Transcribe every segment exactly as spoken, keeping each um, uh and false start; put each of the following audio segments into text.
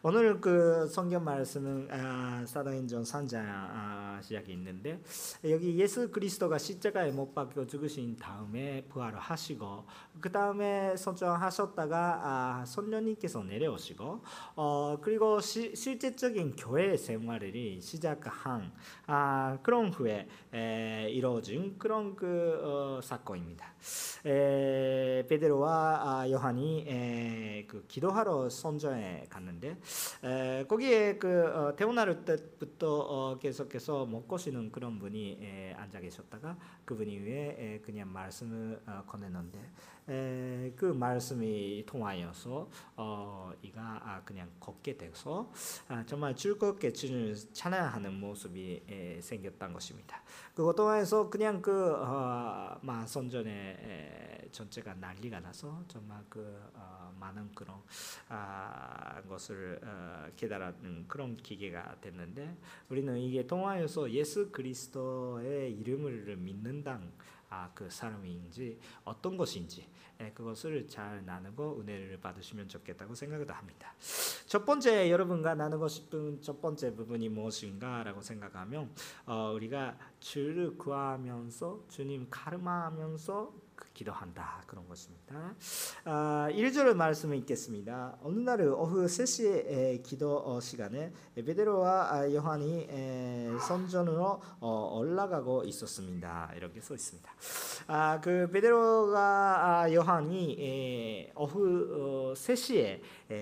오늘 그 성경 말씀은 아, 사도행전 삼 장 아, 시작이 있는데 여기 예수 그리스도가 십자가에 못 박혀 죽으신 다음에 부활을 하시고 그 다음에 선정하셨다가 아, 선녀님께서 내려오시고 어, 그리고 시, 실제적인 교회 생활이 시작한 아, 그런 후에 에, 이루어진 그런 그 어, 사건입니다. 에, 베드로와 아, 요한이 에, 그 기도하러 선전에 갔는데 에, 거기에 그 어, 태어날 때부터 어, 계속해서 먹고 쉬는 그런 분이 에, 앉아 계셨다가 그분이 위에 에, 그냥 말씀을 어, 건네는데 에, 그 말씀이 통하여서 어, 이가 아, 그냥 걷게 돼서 아, 정말 즐겁게 주님을 찬양하는 모습이 에, 생겼던 것입니다. 그것 통해서 그냥 그 어, 막 선전에 에, 전체가 난리가 나서 정말 그 어, 많은 그런 아, 것을 어, 깨달은 그런 기계가 됐는데 우리는 이게 통하여서 예수 그리스도의 이름을 믿는다 아, 그 사람인지 어떤 것인지 예, 그것을 잘 나누고 은혜를 받으시면 좋겠다고 생각을 합니다. 첫 번째 여러분과 나누고 싶은 첫 번째 부분이 무엇인가라고 생각하면 어, 우리가 주를 구하면서 주님 가름하면서 그 기도한다 그런 것입니다. 아, 일 절 말씀을 읽겠습니다. 어느 날 오후 세 시에 기도 시간에 베드로와 요한이 선전으로 올라가고 있었습니다. 이렇게 써 있습니다. 아, 그 베드로가 요한이 오후 세 시에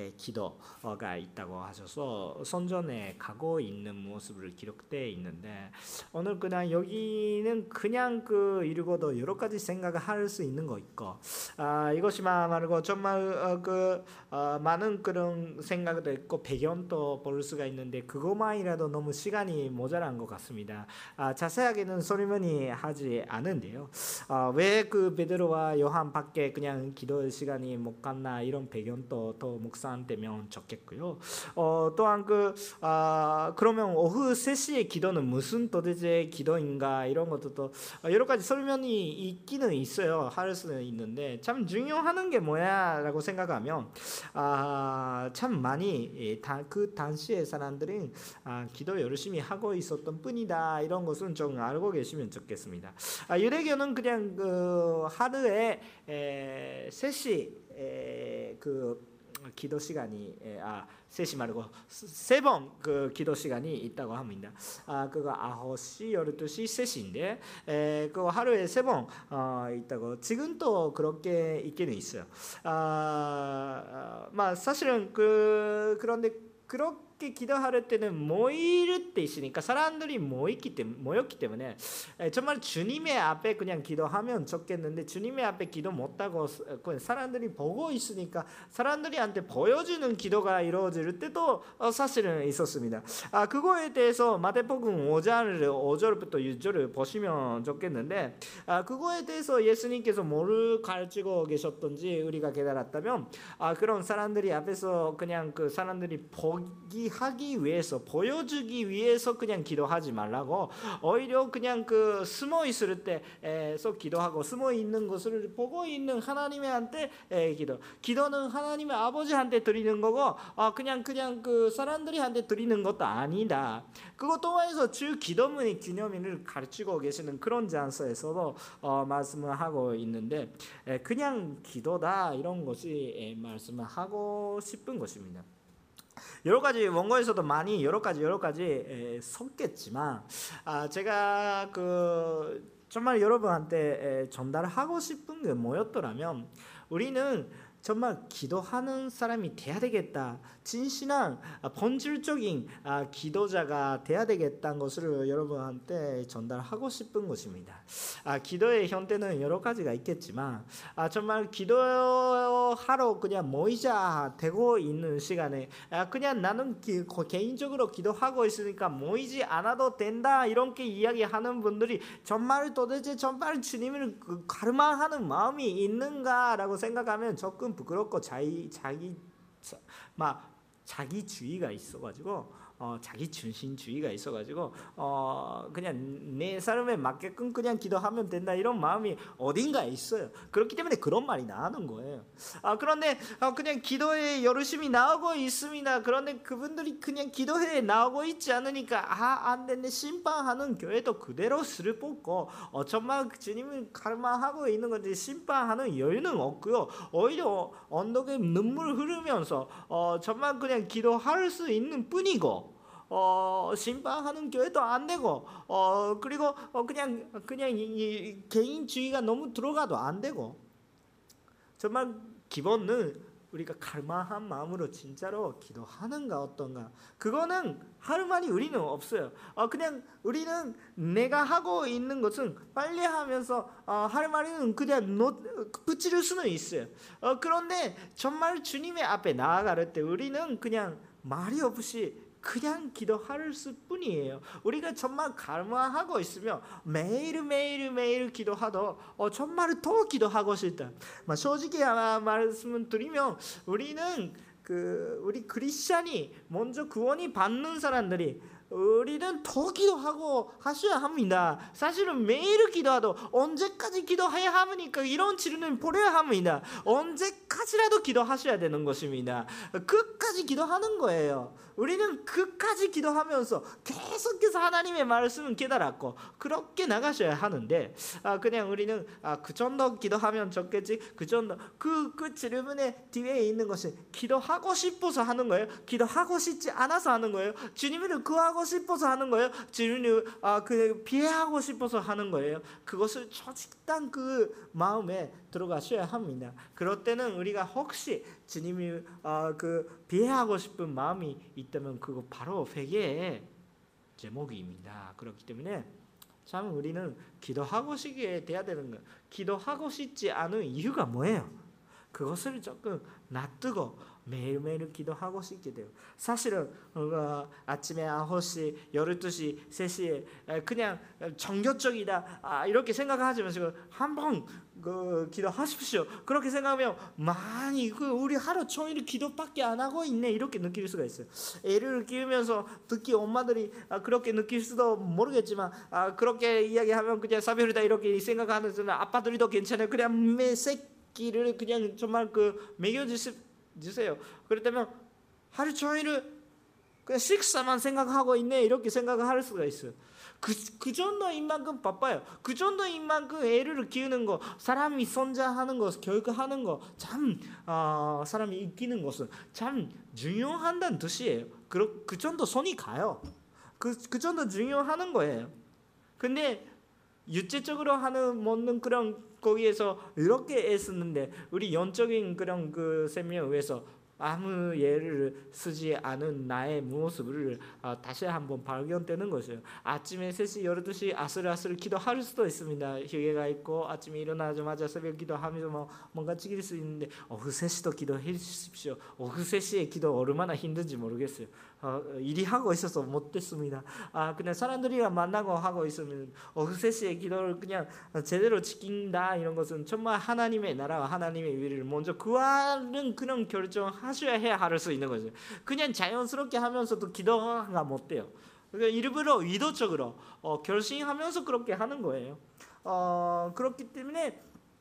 기도가 있다고 하셔서 선전에 가고 있는 모습을 기록되어 있는데 오늘 그냥 여기는 그냥 그 읽어도 여러 가지 생각을 할 수 있는 거 있고 아, 이것이만 말고 정말 어, 그 어, 많은 그런 생각도 있고 배경도 볼 수가 있는데 그것만이라도 너무 시간이 모자란 것 같습니다. 아, 자세하게는 설명이 하지 않은데요. 아, 왜 그 베드로와 요한 밖에 그냥 기도 시간이 못 갔나 이런 배경도 더 묵상되면 좋겠고요. 어, 또한 그 아, 그러면 오후 세 시에 기도는 무슨 도대체 기도인가 이런 것도 또 여러 가지 설명이 있기는 있어요. 할 수는 있는데 참 중요한 게 뭐야라고 생각하면 아, 참 많이 다, 그 당시의 사람들은 아, 기도 열심히 하고 있었던 뿐이다 이런 것은 좀 알고 계시면 좋겠습니다. 아, 유대교는 그냥 그 하루에 에, 세 시 에, 그 기도 시간이 아 세 시 말고 세 번 그 기도 시간이 있다고 합니다. 아 그거 아홉 시, 열두 시, 세 시인데 에, 그 하루에 세 번 어, 있다고 지금도 그렇게 있기는 있어요. 아, 아 사실은 그 그런데 그렇게 기도할 때는 모일 때 있으니까 사람들이 모였기 때문에 모였기 때문에 정말 주님의 앞에 그냥 기도하면 좋겠는데 주님의 앞에 기도 못하고 사람들이 보고 있으니까 사람들이한테 보여주는 기도가 이루어질 때도 사실은 있었습니다. 아 그거에 대해서 마태복음 오 장 오 절부터 육 절을 보시면 좋겠는데 아 그거에 대해서 예수님께서 뭐를 가르치고 계셨던지 우리가 깨달았다면 아 그런 사람들이 앞에서 그냥 그 사람들이 보기 하기 위해서 보여주기 위해서 그냥 기도하지 말라고 오히려 그냥 그 숨어 있을 때에서 기도하고 숨어 있는 것을 보고 있는 하나님한테 기도 기도는 하나님의 아버지한테 드리는 거고 아 그냥 그냥 그 사람들이한테 드리는 것도 아니다. 그것 통해서 주 기도문의 기념일을 가르치고 계시는 그런 장소에서도 어, 말씀을 하고 있는데 그냥 기도다 이런 것이 말씀을 하고 싶은 것입니다. 여러 가지 원고에서도 많이 여러 가지 여러 가지 에, 섞겠지만 아, 제가 그 정말 여러분한테 에, 전달하고 싶은 게 뭐였더라면 우리는 정말 기도하는 사람이 돼야 되겠다. 진실한 본질적인 기도자가 돼야 되겠다는 것을 여러분한테 전달하고 싶은 것입니다. 아, 기도의 형태는 여러 가지가 있겠지만 아, 정말 기도하러 그냥 모이자 되고 있는 시간에 아, 그냥 나는 기, 개인적으로 기도하고 있으니까 모이지 않아도 된다 이렇게 이야기하는 분들이 정말 도대체 정말 주님을 가르마하는 마음이 있는가라고 생각하면 조금 부끄럽고 자기 자기 막 자기주의가 있어가지고 어, 자기 중심주의가 있어가지고 어, 그냥 내 삶에 맞게끔 그냥 기도하면 된다 이런 마음이 어딘가에 있어요. 그렇기 때문에 그런 말이 나오는 거예요. 아, 그런데 어, 그냥 기도에 열심히 나오고 있습니다. 그런데 그분들이 그냥 기도회에 나오고 있지 않으니까 아, 안 됐네, 심판하는 교회도 그대로 슬 뽑고 어, 정말 주님을 갈망하고 있는 건지 심판하는 여유는 없고요. 오히려 언덕에 눈물 흐르면서 어, 정말 그냥 기도할 수 있는 뿐이고 어, 심판하는 교회도 안 되고 어, 그리고 어, 그냥 그냥 이, 이 개인주의가 너무 들어가도 안 되고 정말 기본은 우리가 갈망한 마음으로 진짜로 기도하는가 어떤가 그거는 할 말이 우리는 없어요. 어, 그냥 우리는 내가 하고 있는 것은 빨리 하면서 어, 할 말은 그냥 놓, 붙일 수는 있어요. 어, 그런데 정말 주님의 앞에 나아갈 때 우리는 그냥 말이 없이 그냥 기도할 뿐이에요. 우리가 정말 갈망하고 있으면 매일매일 매일 기도하도 어, 정말 더 기도하고 싶다. 솔직히 말씀을 드리면 우리는 그 우리 크리스찬이 먼저 구원이 받는 사람들이 우리는 더 기도하고 하셔야 합니다. 사실은 매일 기도하도 언제까지 기도해야 합니까? 이런 질문을 버려야 합니다. 언제까지라도 기도하셔야 되는 것입니다. 끝까지 기도하는 거예요. 우리는 끝까지 기도하면서 계속해서 하나님의 말씀을 깨달았고 그렇게 나가셔야 하는데 아, 그냥 우리는 아, 그 정도 기도하면 좋겠지 그 정도 그, 그 질문의 뒤에 있는 것이 기도하고 싶어서 하는 거예요? 기도하고 싶지 않아서 하는 거예요? 주님을 구하고 싶어서 하는 거예요? 주님을 아, 그 피하고 싶어서 하는 거예요? 그것을 솔직한 그 마음에 들어가셔야 합니다. 그럴 때는 우리가 혹시 주님이 어, 그 비하하고 싶은 마음이 있다면 그거 바로 회개의 제목입니다. 그렇기 때문에 참 우리는 기도하고 싶게 돼야 되는 거예요. 기도하고 싶지 않은 이유가 뭐예요? 그것을 조금 놔두고 매일매일 기도하고 싶게 돼요. 사실은 어, 아침에 아홉 시, 열두 시, 세 시에 그냥 정교적이다 아, 이렇게 생각하지 마시고 한번 그 기도하십시오. 그렇게 생각하면 많이 그 우리 하루 종일 기도밖에 안 하고 있네 이렇게 느낄 수가 있어요. 애를 키우면서 특히 엄마들이 아, 그렇게 느낄 수도 모르겠지만 아, 그렇게 이야기하면 그냥 사별이다 이렇게 생각하는 아빠들도 괜찮아요. 그냥 매 새끼를 그냥 정말 그 먹여주시 주세요. 그렇다면 하루 종일 그냥 식사만 생각하고 있네 이렇게 생각을 할 수가 있어요. 그, 그 정도인 만큼 바빠요. 그 정도인 만큼 애를 키우는 거, 사람이 성장하는 거, 교육하는 거, 참 어, 사람이 이기는 것은 참 중요한다는 뜻이에요. 그, 그 정도 손이 가요. 그, 그 정도 중요하는 거예요. 근데 육체적으로 하는 먹는 그런 거기에서 이렇게 애쓰는데 우리 영적인 그런 그 생명을 위해서 아무 예를 쓰지 않은 나의 모습을 어, 다시 한번 발견되는 것이에요. 아침에 세 시, 열두 시 아슬아슬 기도할 수도 있습니다. 휴게가 있고 아침에 일어나자마자 새벽 기도하면서 뭐 뭔가 찍을 수 있는데 오후 세 시도 기도해 주십시오. 오후 세 시에 기도 얼마나 힘든지 모르겠어요. 어, 일이 하고 있어서 못됐습니다. 아, 그냥 사람들이랑 만나고 하고 있으면 오후 세 시에 기도를 그냥 제대로 지킨다 이런 것은 정말 하나님의 나라와 하나님의 위를 먼저 구하는 그런 결정하셔야 해야 할 수 있는 거죠. 그냥 자연스럽게 하면서도 기도가 못 돼요. 그러니까 일부러 의도적으로 어, 결심하면서 그렇게 하는 거예요. 어, 그렇기 때문에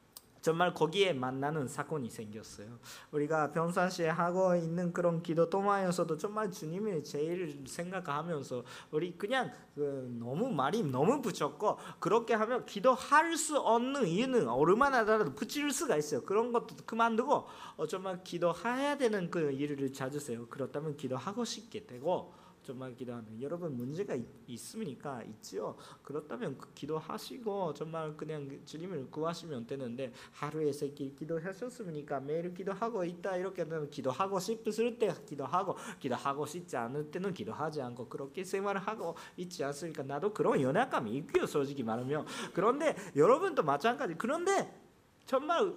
정말 거기에 만나는 사건이 생겼어요. 우리가 평상시에 하고 있는 그런 기도 동안에서도 정말 주님을 제일 생각하면서 우리 그냥 그 너무 말이 너무 붙였고 그렇게 하면 기도할 수 없는 이유는 얼마나라도 붙일 수가 있어요. 그런 것도 그만두고 어, 정말 기도해야 되는 그 일을 찾으세요. 그렇다면 기도하고 싶게 되고 정말 기도하는 여러분 문제가 있, 있습니까? 있지요. 그렇다면 그 기도하시고 정말 그냥 주님을 구하시면 되는데 하루에 세 끼 기도하셨습니까? 매일 기도하고 있다 이렇게 되면 기도하고 싶을 때 기도하고 기도하고 싶지 않을 때는 기도하지 않고 그렇게 생활을 하고 있지 않습니까? 나도 그런 연약감이 있고요. 솔직히 말하면 그런데 여러분도 마찬가지. 그런데 정말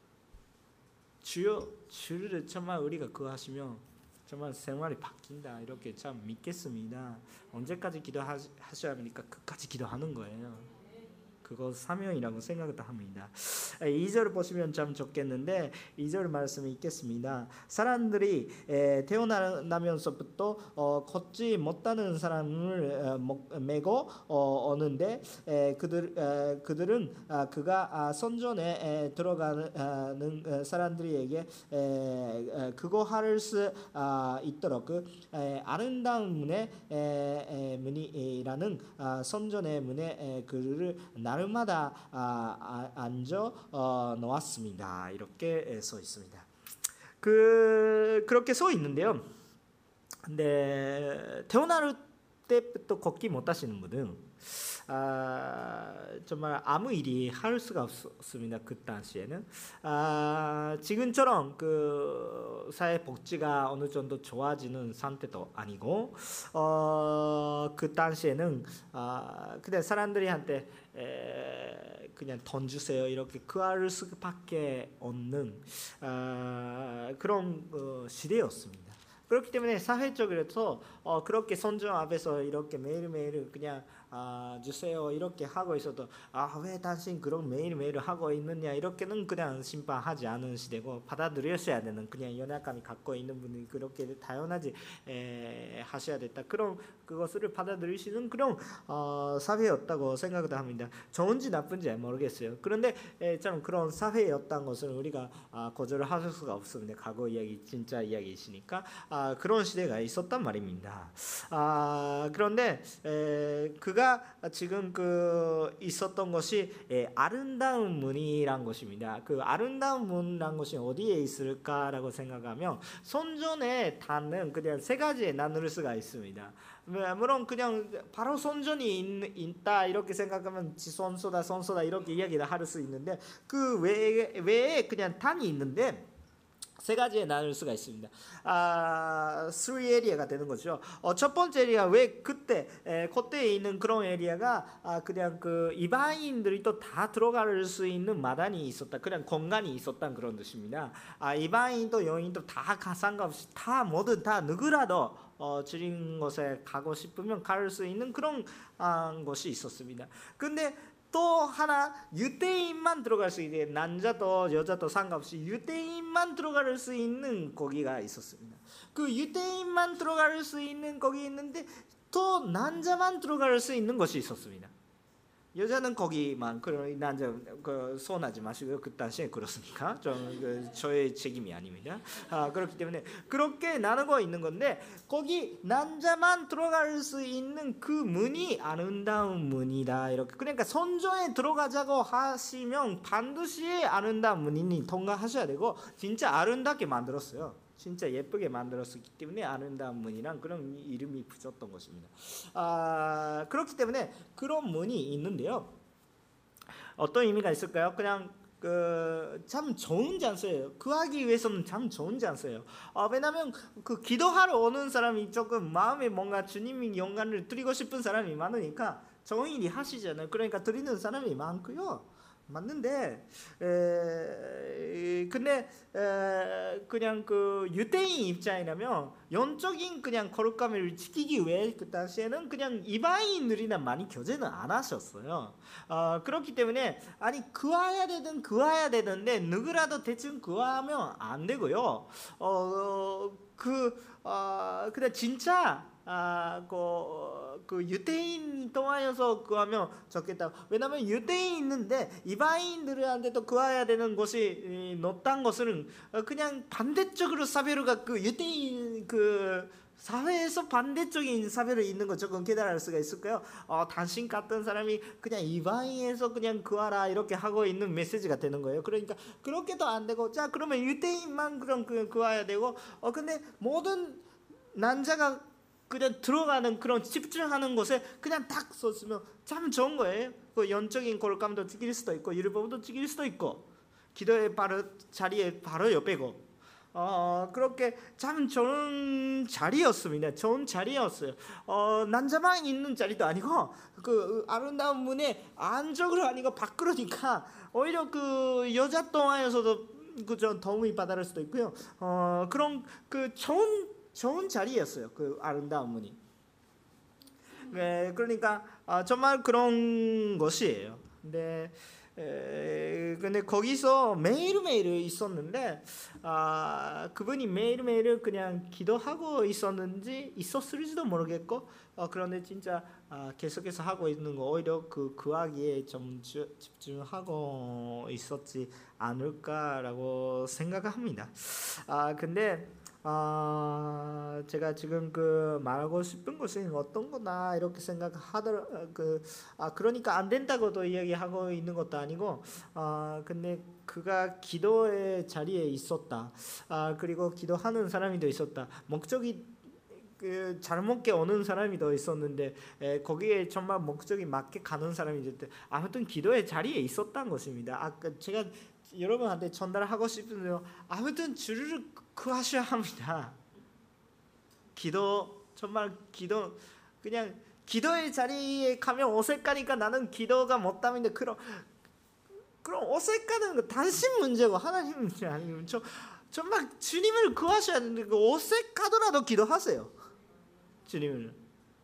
주여 주를 정말 우리가 구하시면 정말 생활이 바뀐다 이렇게 참 믿겠습니다. 언제까지 기도하셔야 합니까? 끝까지 기도하는 거예요. 그거 사명이라고 생각도 합니다. 이 절 보시면 참 좋겠는데 이 절 말씀이 있겠습니다. 사람들이 태어나면서부터 어, 걷지 못하는 사람을 메고 어, 오는데 에, 그들 에, 그들은 아, 그가 아, 선전에 에, 들어가는 사람들에게 에, 에, 그거 할 수 아, 있도록 그 에, 아름다운 문의 에, 에, 문이라는 아, 선전의 문에 에, 그를 날마다 아, 아, 앉아 어, 놓았습니다. 이렇게 써 있습니다. 그 그렇게 써 있는데요. 근데 태어날 때부터 걷기 못하시는 분은 아, 정말 아무 일이 할 수가 없습니다. 그 당시에는 아, 지금처럼 그 사회 복지가 어느 정도 좋아지는 상태도 아니고 어, 그 당시에는 아, 그냥 사람들이 한테 에, 그냥 돈 주세요 이렇게 구할 수밖에 없는 아, 그런 어, 시대였습니다. 그렇기 때문에 사회적으로서 어, 그렇게 선정 앞에서 이렇게 매일매일 그냥 아, 주세요 이렇게 하고 있어도 아, 왜 당신 그런 매일매일 하고 있느냐 이렇게는 그냥 심판하지 않은 시대고 받아들였어야 되는 그냥 연약함이 갖고 있는 분이 그렇게 다양하지 에, 하셔야 됐다. 그런 그것을 받아들이시는 그런 어, 사회였다고 생각도 합니다. 좋은지 나쁜지 모르겠어요. 그런데 에, 참 그런 사회였다는 것을 우리가 아, 거절을 할 수가 없습니다. 과거 이야기 진짜 이야기이시니까 아, 그런 시대가 있었단 말입니다. 아, 그런데 에, 그가 지금 그 있었던 것이 에, 아름다운 문이란 것입니다. 그 아름다운 문이란 것이 어디에 있을까라고 생각하면 선전에 닿는 그냥 세 가지에 나눌 수가 있습니다. 물론 그냥 바로 선전이 있, 있다 이렇게 생각하면 지선소다 선소다 이렇게 이야기를 할 수 있는데 그 외에, 외에 그냥 단이 있는데 세 가지에 나눌 수가 있습니다. 아, three 에리아가 되는 거죠. 어, 첫 번째 에리아 왜 그때 에, 그때에 있는 그런 에리아가 아, 그냥 그 이방인들이 또 다 들어갈 수 있는 마당이 있었다. 그냥 공간이 있었다는 그런 뜻입니다. 아, 이방인도 여인도 다 상관없이 다 모두 다 누구라도 어, 주린 곳에 가고 싶으면 갈 수 있는 그런 아, 것이 있었습니다. 근데 또 하나 유대인만 들어갈 수 있는 남자도 여자도 상관없이 유대인만 들어갈 수 있는 거기가 있었습니다. 그 유대인만 들어갈 수 있는 거기 있는데 또 남자만 들어갈 수 있는 것이 있었습니다. 여자는 거기만 그 남자 그 손하지 마시고요. 그 당시에 그렇습니까? 저 그, 저의 책임이 아닙니다. 아, 그렇기 때문에 그렇게 나누고 있는 건데 거기 남자만 들어갈 수 있는 그 문이 아름다운 문이다 이렇게. 그러니까 선조에 들어가자고 하시면 반드시 아름다운 문이 통과하셔야 되고 진짜 아름답게 만들었어요. 진짜 예쁘게 만들었기 때문에 아름다운 문이란 그런 이름이 붙였던 것입니다. 아, 그렇기 때문에 그런 문이 있는데요. 어떤 의미가 있을까요? 그냥 그 참 좋은 장소예요. 구하기 위해서는 참 좋은 장소예요. 아, 왜냐하면 그 기도하러 오는 사람이 조금 마음에 뭔가 주님의 영광을 드리고 싶은 사람이 많으니까 정인이 하시잖아요. 그러니까 드리는 사람이 많고요. 맞는데 에, 근데 에, 그냥 그 유대인 입장이라면 영적인 그냥 거룩함을 지키기 위해 그 당시에는 그냥 이방인들이나 많이 교제는 안 하셨어요. 어, 그렇기 때문에 아니 구해야 되든 구해야 되는데 누구라도 대충 구하면 안 되고요. 어, 그 어, 근데 진짜 아, 그, 그 유대인 통하여서 구하면 좋겠다. 왜냐하면 유대인 있는데 이방인들한테도 구해야 되는 것이 높다는 것은 그냥 반대적으로 사회가 그 유대인 그 사회에서 반대적인 사회로 있는 거 조금 깨달을 수가 있을까요? 어, 당신 같은 사람이 그냥 이방인에서 그냥 구하라 이렇게 하고 있는 메시지가 되는 거예요. 그러니까 그렇게도 안 되고 자 그러면 유대인만 그럼 그 구해야 되고 어 근데 모든 남자가 그냥 들어가는 그런 집중하는 곳에 그냥 딱 섰으면 참 좋은 거예요. 그 영적인 거룩함도 지킬 수도 있고 율법도 지킬 수도 있고 기도의 바로 자리에 바로 옆에고 어, 그렇게 참 좋은 자리였습니다. 좋은 자리였어요. 어, 남자만 있는 자리도 아니고 그 아름다운 문에 안쪽으로 아니고 밖으로니까 오히려 그 여자 동화에서도 그저 도움이 받을 수도 있고요. 어, 그런 그 좋은 좋은 자리였어요. 그 아름다운 문이. 네, 그러니까 아, 정말 그런 것이에요. 근데 에, 근데 거기서 매일매일 있었는데 아, 그분이 매일매일 그냥 기도하고 있었는지 있었을지도 모르겠고 어, 그런데 진짜 아, 계속해서 하고 있는 거 오히려 그 구하기에 좀 주, 집중하고 있었지 않을까라고 생각합니다. 아 근데 아 제가 지금 그 말하고 싶은 것은 어떤 거나 이렇게 생각하더라 그 아 그러니까 안 된다고도 이야기하고 있는 것도 아니고 아 근데 그가 기도의 자리에 있었다. 아 그리고 기도하는 사람이 더 있었다. 목적이 그 잘못게 오는 사람이 더 있었는데 에, 거기에 정말 목적이 맞게 가는 사람이 있을 아무튼 기도의 자리에 있었다는 것입니다. 아까 제가 여러분한테 전달하고 싶은데요. 아무튼 주를 구하셔야 합니다. 기도 정말 기도 그냥 기도의 자리에 가면 어색하니까 나는 기도가 못함인데 그럼 그럼 어색하는 거 당신 문제고 하나님 문제 아니면 저 정말 주님을 구하셔야 되는데 그 어색하더라도 기도하세요. 주님을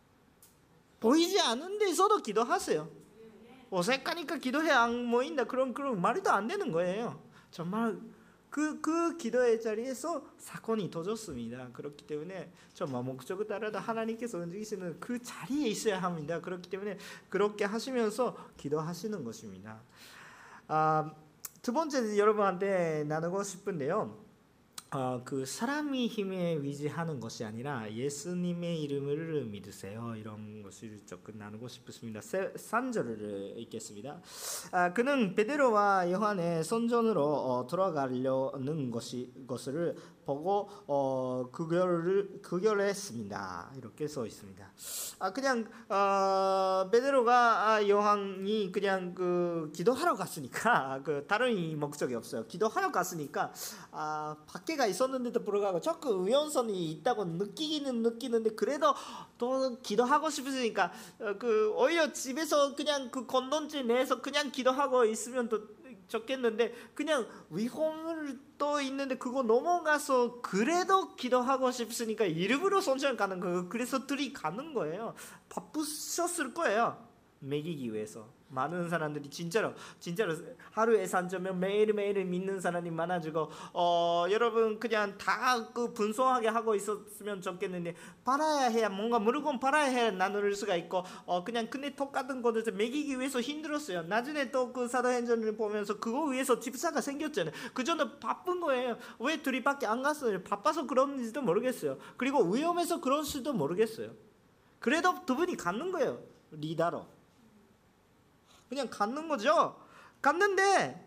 보이지 않는 데서도 기도하세요. 어색하니까 기도해 안 모인다 그런 그런 말이도 안 되는 거예요. 정말 그, 그 기도의 자리에서 사건이 터졌습니다. 그렇기 때문에 정말 목적을 따라서 하나님께서 움직이시는 그 자리에 있어야 합니다. 그렇기 때문에 그렇게 하시면서 기도하시는 것입니다. 아, 두 번째 여러분한테 나누고 싶은데요. 어, 그 사람의 힘에 위지하는 것이 아니라 예수님의 이름을 믿으세요. 이런 것을 조금 나누고 싶습니다. 삼 절을 읽겠습니다. 아, 그는 베드로와 요한의 선전으로 어, 돌아가려는 것이, 것을 보고 어, 그결을 그결했습니다. 이렇게 써 있습니다. 아, 그냥 어, 베드로가 아, 요한이 그냥 그 기도하러 갔으니까 그 다른 목적이 없어요. 기도하러 갔으니까 아, 밖에가 있었는데도 불구하고 조금 위험성이 있다고 느끼기는 느끼는데 그래도 또 기도하고 싶으니까 어, 그 오히려 집에서 그냥 그 건넌지 내에서 그냥 기도하고 있으면 더 좋겠는데 그냥 위험을 또 있는데 그거 넘어가서 그래도 기도하고 싶으니까 일부러 선전 가는 거예요. 그래서 둘이 가는 거예요. 바쁘셨을 거예요. 먹이기 위해서. 많은 사람들이 진짜로 진짜로 하루에 삼점면 매일매일 믿는 사람이 많아지고 어 여러분 그냥 다 그 분소하게 하고 있었으면 좋겠는데 팔아야 해야 뭔가 물건 팔아야 해야 나눌 수가 있고 어 그냥 근데 똑같은 것을 먹이기 위해서 힘들었어요. 나중에 또 그 사도행전을 보면서 그거 위해서 집사가 생겼잖아요. 그 전에 바쁜 거예요. 왜 둘이밖에 안 갔어요? 바빠서 그런지도 모르겠어요. 그리고 위험해서 그런지도 모르겠어요. 그래도 두 분이 갔는 거예요. 리더로. 그냥 갔는 거죠. 갔는데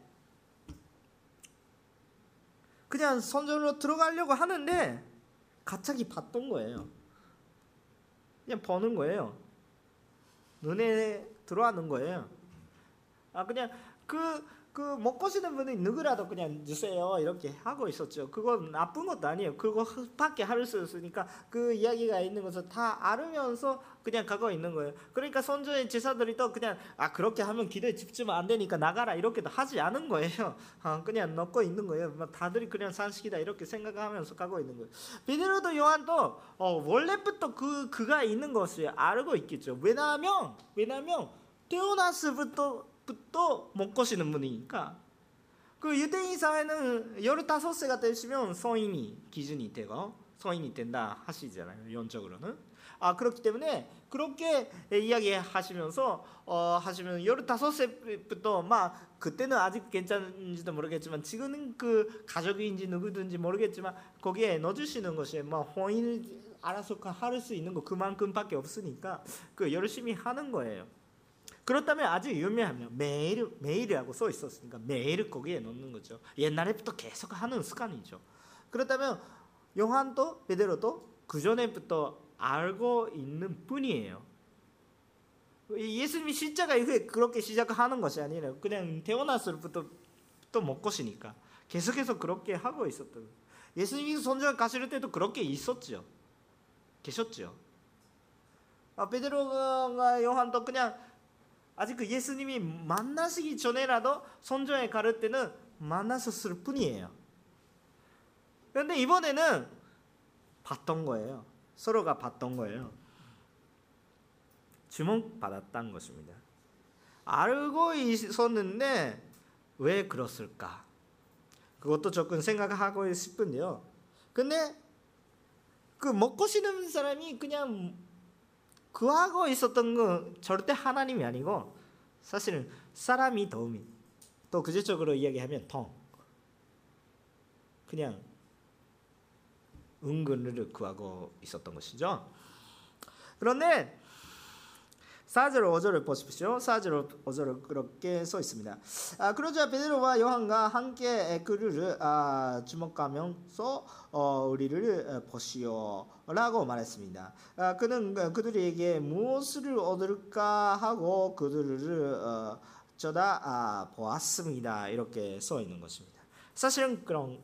그냥 선전으로 들어가려고 하는데 갑자기 봤던 거예요. 그냥 보는 거예요. 눈에 들어가는 거예요. 아 그냥 그 그 먹고 싶은 분이 누구라도 그냥 주세요 이렇게 하고 있었죠. 그건 나쁜 것도 아니에요. 그거밖에 할 수 없으니까 그 이야기가 있는 것을 다 알으면서 그냥 가고 있는 거예요. 그러니까 선조의 제사들이 또 그냥 아 그렇게 하면 기도에 집중 안 되니까 나가라 이렇게도 하지 않은 거예요. 아, 그냥 넣고 있는 거예요. 다들 그냥 산식이다 이렇게 생각하면서 가고 있는 거예요. 베드로도 요한도 어, 원래부터 그 그가 있는 것을 알고 있겠죠. 왜냐하면 왜냐하면 태어났을부터 부터 먹고 쉬는 분이니까 그 유대인 사회는 열다섯 세가 되시면 성인이 기준이 되고 성인이 된다 하시잖아요. 연적으로는 아 그렇기 때문에 그렇게 이야기하시면서 어 하시면 열다섯 세부터 막 그때는 아직 괜찮은지도 모르겠지만 지금은 그 가족인지 누구든지 모르겠지만 거기에 넣어주시는 것이 뭐 혼인을 알아서 할 수 있는 거 그만큼밖에 없으니까 그 열심히 하는 거예요. 그렇다면 아주 유명하면 매일 매일이라고 써 있었으니까 매일 거기에 넣는 거죠. 옛날에부터 계속 하는 습관이죠. 그렇다면 요한도 베드로도 그 전에부터 알고 있는 분이에요. 예수님이 십자가 이후에 그렇게 시작하는 것이 아니라 그냥 태어났을부터 또 먹고 쉬니까 계속해서 그렇게 하고 있었던. 예수님이 선전 가실 때도 그렇게 있었죠. 계셨죠. 아, 베드로가 요한도 그냥 아직 그 예수님이 만나시기 전에라도 선전에 가를 때는 만나셨을 뿐이에요. 그런데 이번에는 봤던 거예요. 서로가 봤던 거예요. 주목받았다는 것입니다. 알고 있었는데 왜 그랬을까? 그것도 조금 생각하고 싶은데요. 근데 그 먹고 싶은 사람이 그냥 구하고 있었던 건 절대 하나님이 아니고 사실은 사람이 도움이, 또 구체적으로 이야기하면 통, 그냥 은근을 구하고 있었던 것이죠. 그런데 사 절 오 절을 보십시오. 사 절 오 절은 그렇게 써 있습니다. 아, 그러자 베드로와 요한과 함께 그를 아, 주목하면서 어, 우리를 보시오라고 말했습니다. 아, 그는 그들에게 무엇을 얻을까 하고 그들을 어, 쳐다 아, 보았습니다. 이렇게 써 있는 것입니다. 사실은 그런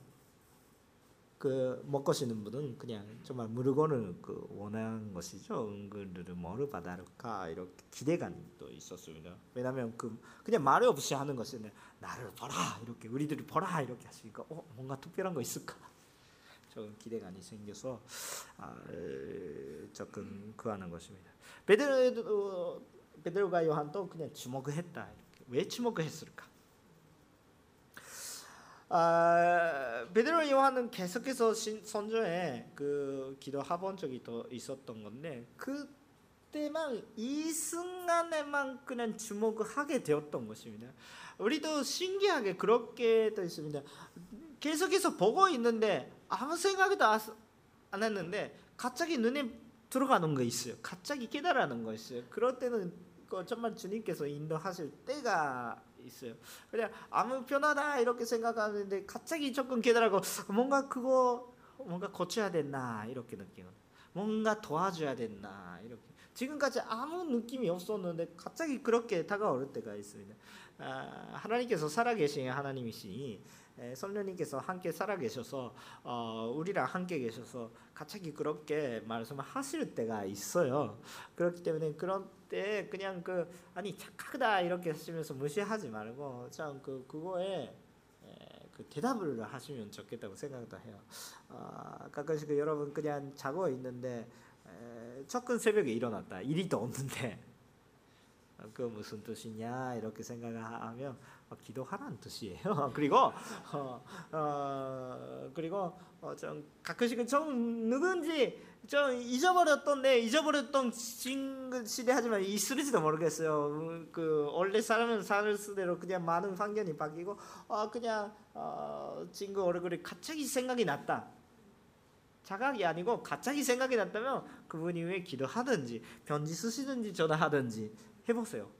그 먹고 싶는 분은 그냥 정말 물건을 그 원하는 것이죠. 은근을 뭐를 받을까 이렇게 기대감도 있었습니다. 왜냐하면 그 그냥 말 없이 하는 것은 나를 보라 이렇게 우리들이 보라 이렇게 하시니까 어 뭔가 특별한 거 있을까? 조금 기대감이 생겨서 아, 조금 구하는 것입니다. 베드로 베드로가 요한도 그냥 주목했다. 이렇게. 왜 주목했을까? 아, 베드로 요한은 계속해서 선조에 그 기도해본 적이 더 있었던 건데 그때만 이 순간에만 그냥 주목을 하게 되었던 것입니다. 우리도 신기하게 그렇게 또 있습니다. 계속해서 보고 있는데 아무 생각도 안 했는데 갑자기 눈에 들어가는 거 있어요. 갑자기 깨달아는 거 있어요. 그럴 때는 정말 주님께서 인도하실 때가 있어요. 그냥 아무 편하다 이렇게 생각하는데 갑자기 조금 깨달고 뭔가 그거 뭔가 고쳐야 됐나 이렇게 느끼고 뭔가 도와줘야 됐나 이렇게 지금까지 아무 느낌이 없었는데 갑자기 그렇게 다가올 때가 있습니다. 아, 하나님께서 살아계신 하나님이시니 성령님께서 함께 살아계셔서 어, 우리랑 함께 계셔서 갑자기 그렇게 말씀하실 때가 있어요. 그렇기 때문에 그런 때 그냥 그 아니 착하다 이렇게 하시면서 무시하지 말고 참 그 그거에 그 대답을 하시면 좋겠다고 생각도 해요. 어, 가끔씩 여러분 그냥 자고 있는데 에, 조금 새벽에 일어났다. 일이 또 없는데 그 무슨 뜻이냐 이렇게 생각하면 어, 기도하라는 뜻이에요. 그리고 어, 어, 그리고 어, 좀 가끔씩은 좀 누군지 좀 잊어버렸던데 잊어버렸던 시대 하지만 있을지도 모르겠어요. 그 원래 사람은 사는 수대로 그냥 많은 환경이 바뀌고 어, 그냥 어, 친구 얼굴이 갑자기 생각이 났다. 자각이 아니고 갑자기 생각이 났다면 그분이 왜 기도하든지 편지 쓰시든지 전화하든지 해보세요.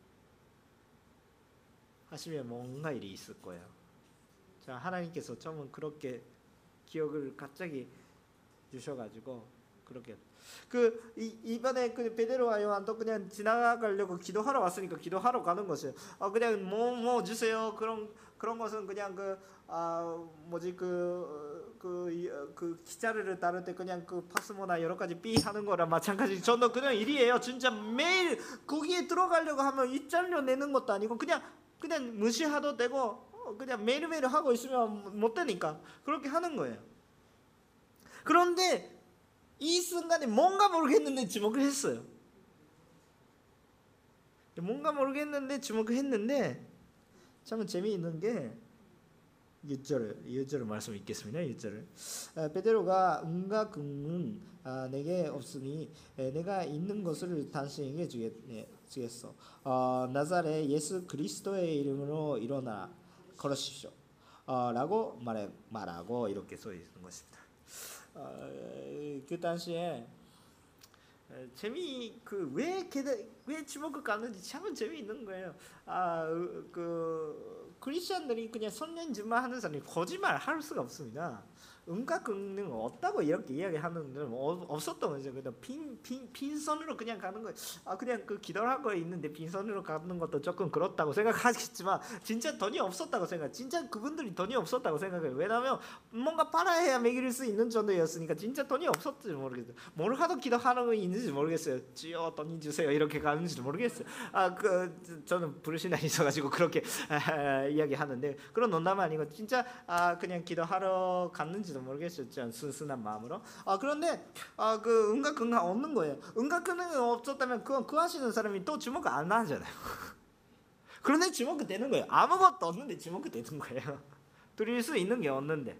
하시면 뭔가 일이 있을 거예요. 자, 하나님께서 처음 그렇게 기억을 갑자기 주셔가지고 그렇게 그 이, 이번에 그 베드로와 요한도 그냥 지나가려고 기도하러 왔으니까 기도하러 가는 것이에요. 아 그냥 뭐뭐 뭐 주세요. 그런 그런 것은 그냥 그 아 뭐지 그 그 그 기자를 따를 때 그냥 그 파스모나 여러 가지 삐 하는 거랑 마찬가지. 저도 그냥 일이에요. 진짜 매일 거기에 들어가려고 하면 입장료 내는 것도 아니고 그냥 그냥 무시해도 되고 그냥 매일매일 하고 있으면 못 되니까 그렇게 하는 거예요. 그런데 이 순간에 뭔가 모르겠는데 주목을 했어요. 뭔가 모르겠는데 주목을 했는데 참 재미있는 게 육 절, 육 절 말씀 읽겠습니다. 육 절을 아, 베드로가 은과 금은 아, 내게 없으니 에, 내가 있는 것을 당신에게 주겠, 네, 주겠어. 어, 나사렛 예수 그리스도의 이름으로 일어나 걸으십시오. 어, 라고 말해, 말하고 이렇게 써 있는 것입니다. 어, 그 당시에 재미 그왜 왜 주목을 갖는지 참 재미있는 거예요. 아그 크리스천들이 그냥 선년지만 하는 사람이 거짓말 할 수가 없습니다. 음과 금은 없다고 이렇게 이야기하는 데는 없었던 거죠. 그냥 빈, 빈, 빈손으로 그냥 가는 거예요. 아 그냥 그 기도를 하고 있는데 빈손으로 가는 것도 조금 그렇다고 생각하겠지만 진짜 돈이 없었다고 생각. 진짜 그분들이 돈이 없었다고 생각해요. 왜냐하면 뭔가 팔아야 먹일 수 있는 정도였으니까 진짜 돈이 없었지 모르겠어요. 뭘 하도 기도하는 거 있는지 모르겠어요. 주여 돈이 주세요 이렇게 가는지도 모르겠어요. 아 그 저는 불신앙이 있어가지고 그렇게 아, 이야기하는데 그런 농담 아니고 진짜 아 그냥 기도하러 갔는지 모르겠어요. 순순한 마음으로. 아 그런데 아 그 은과 금가 없는 거예요. 은과 금은 없었다면 그건 그 하시는 사람이 또 주목 안 하잖아요. 그런데 주목되는 거예요. 아무것도 없는데 주목되는 거예요. 드릴 수 있는 게 없는데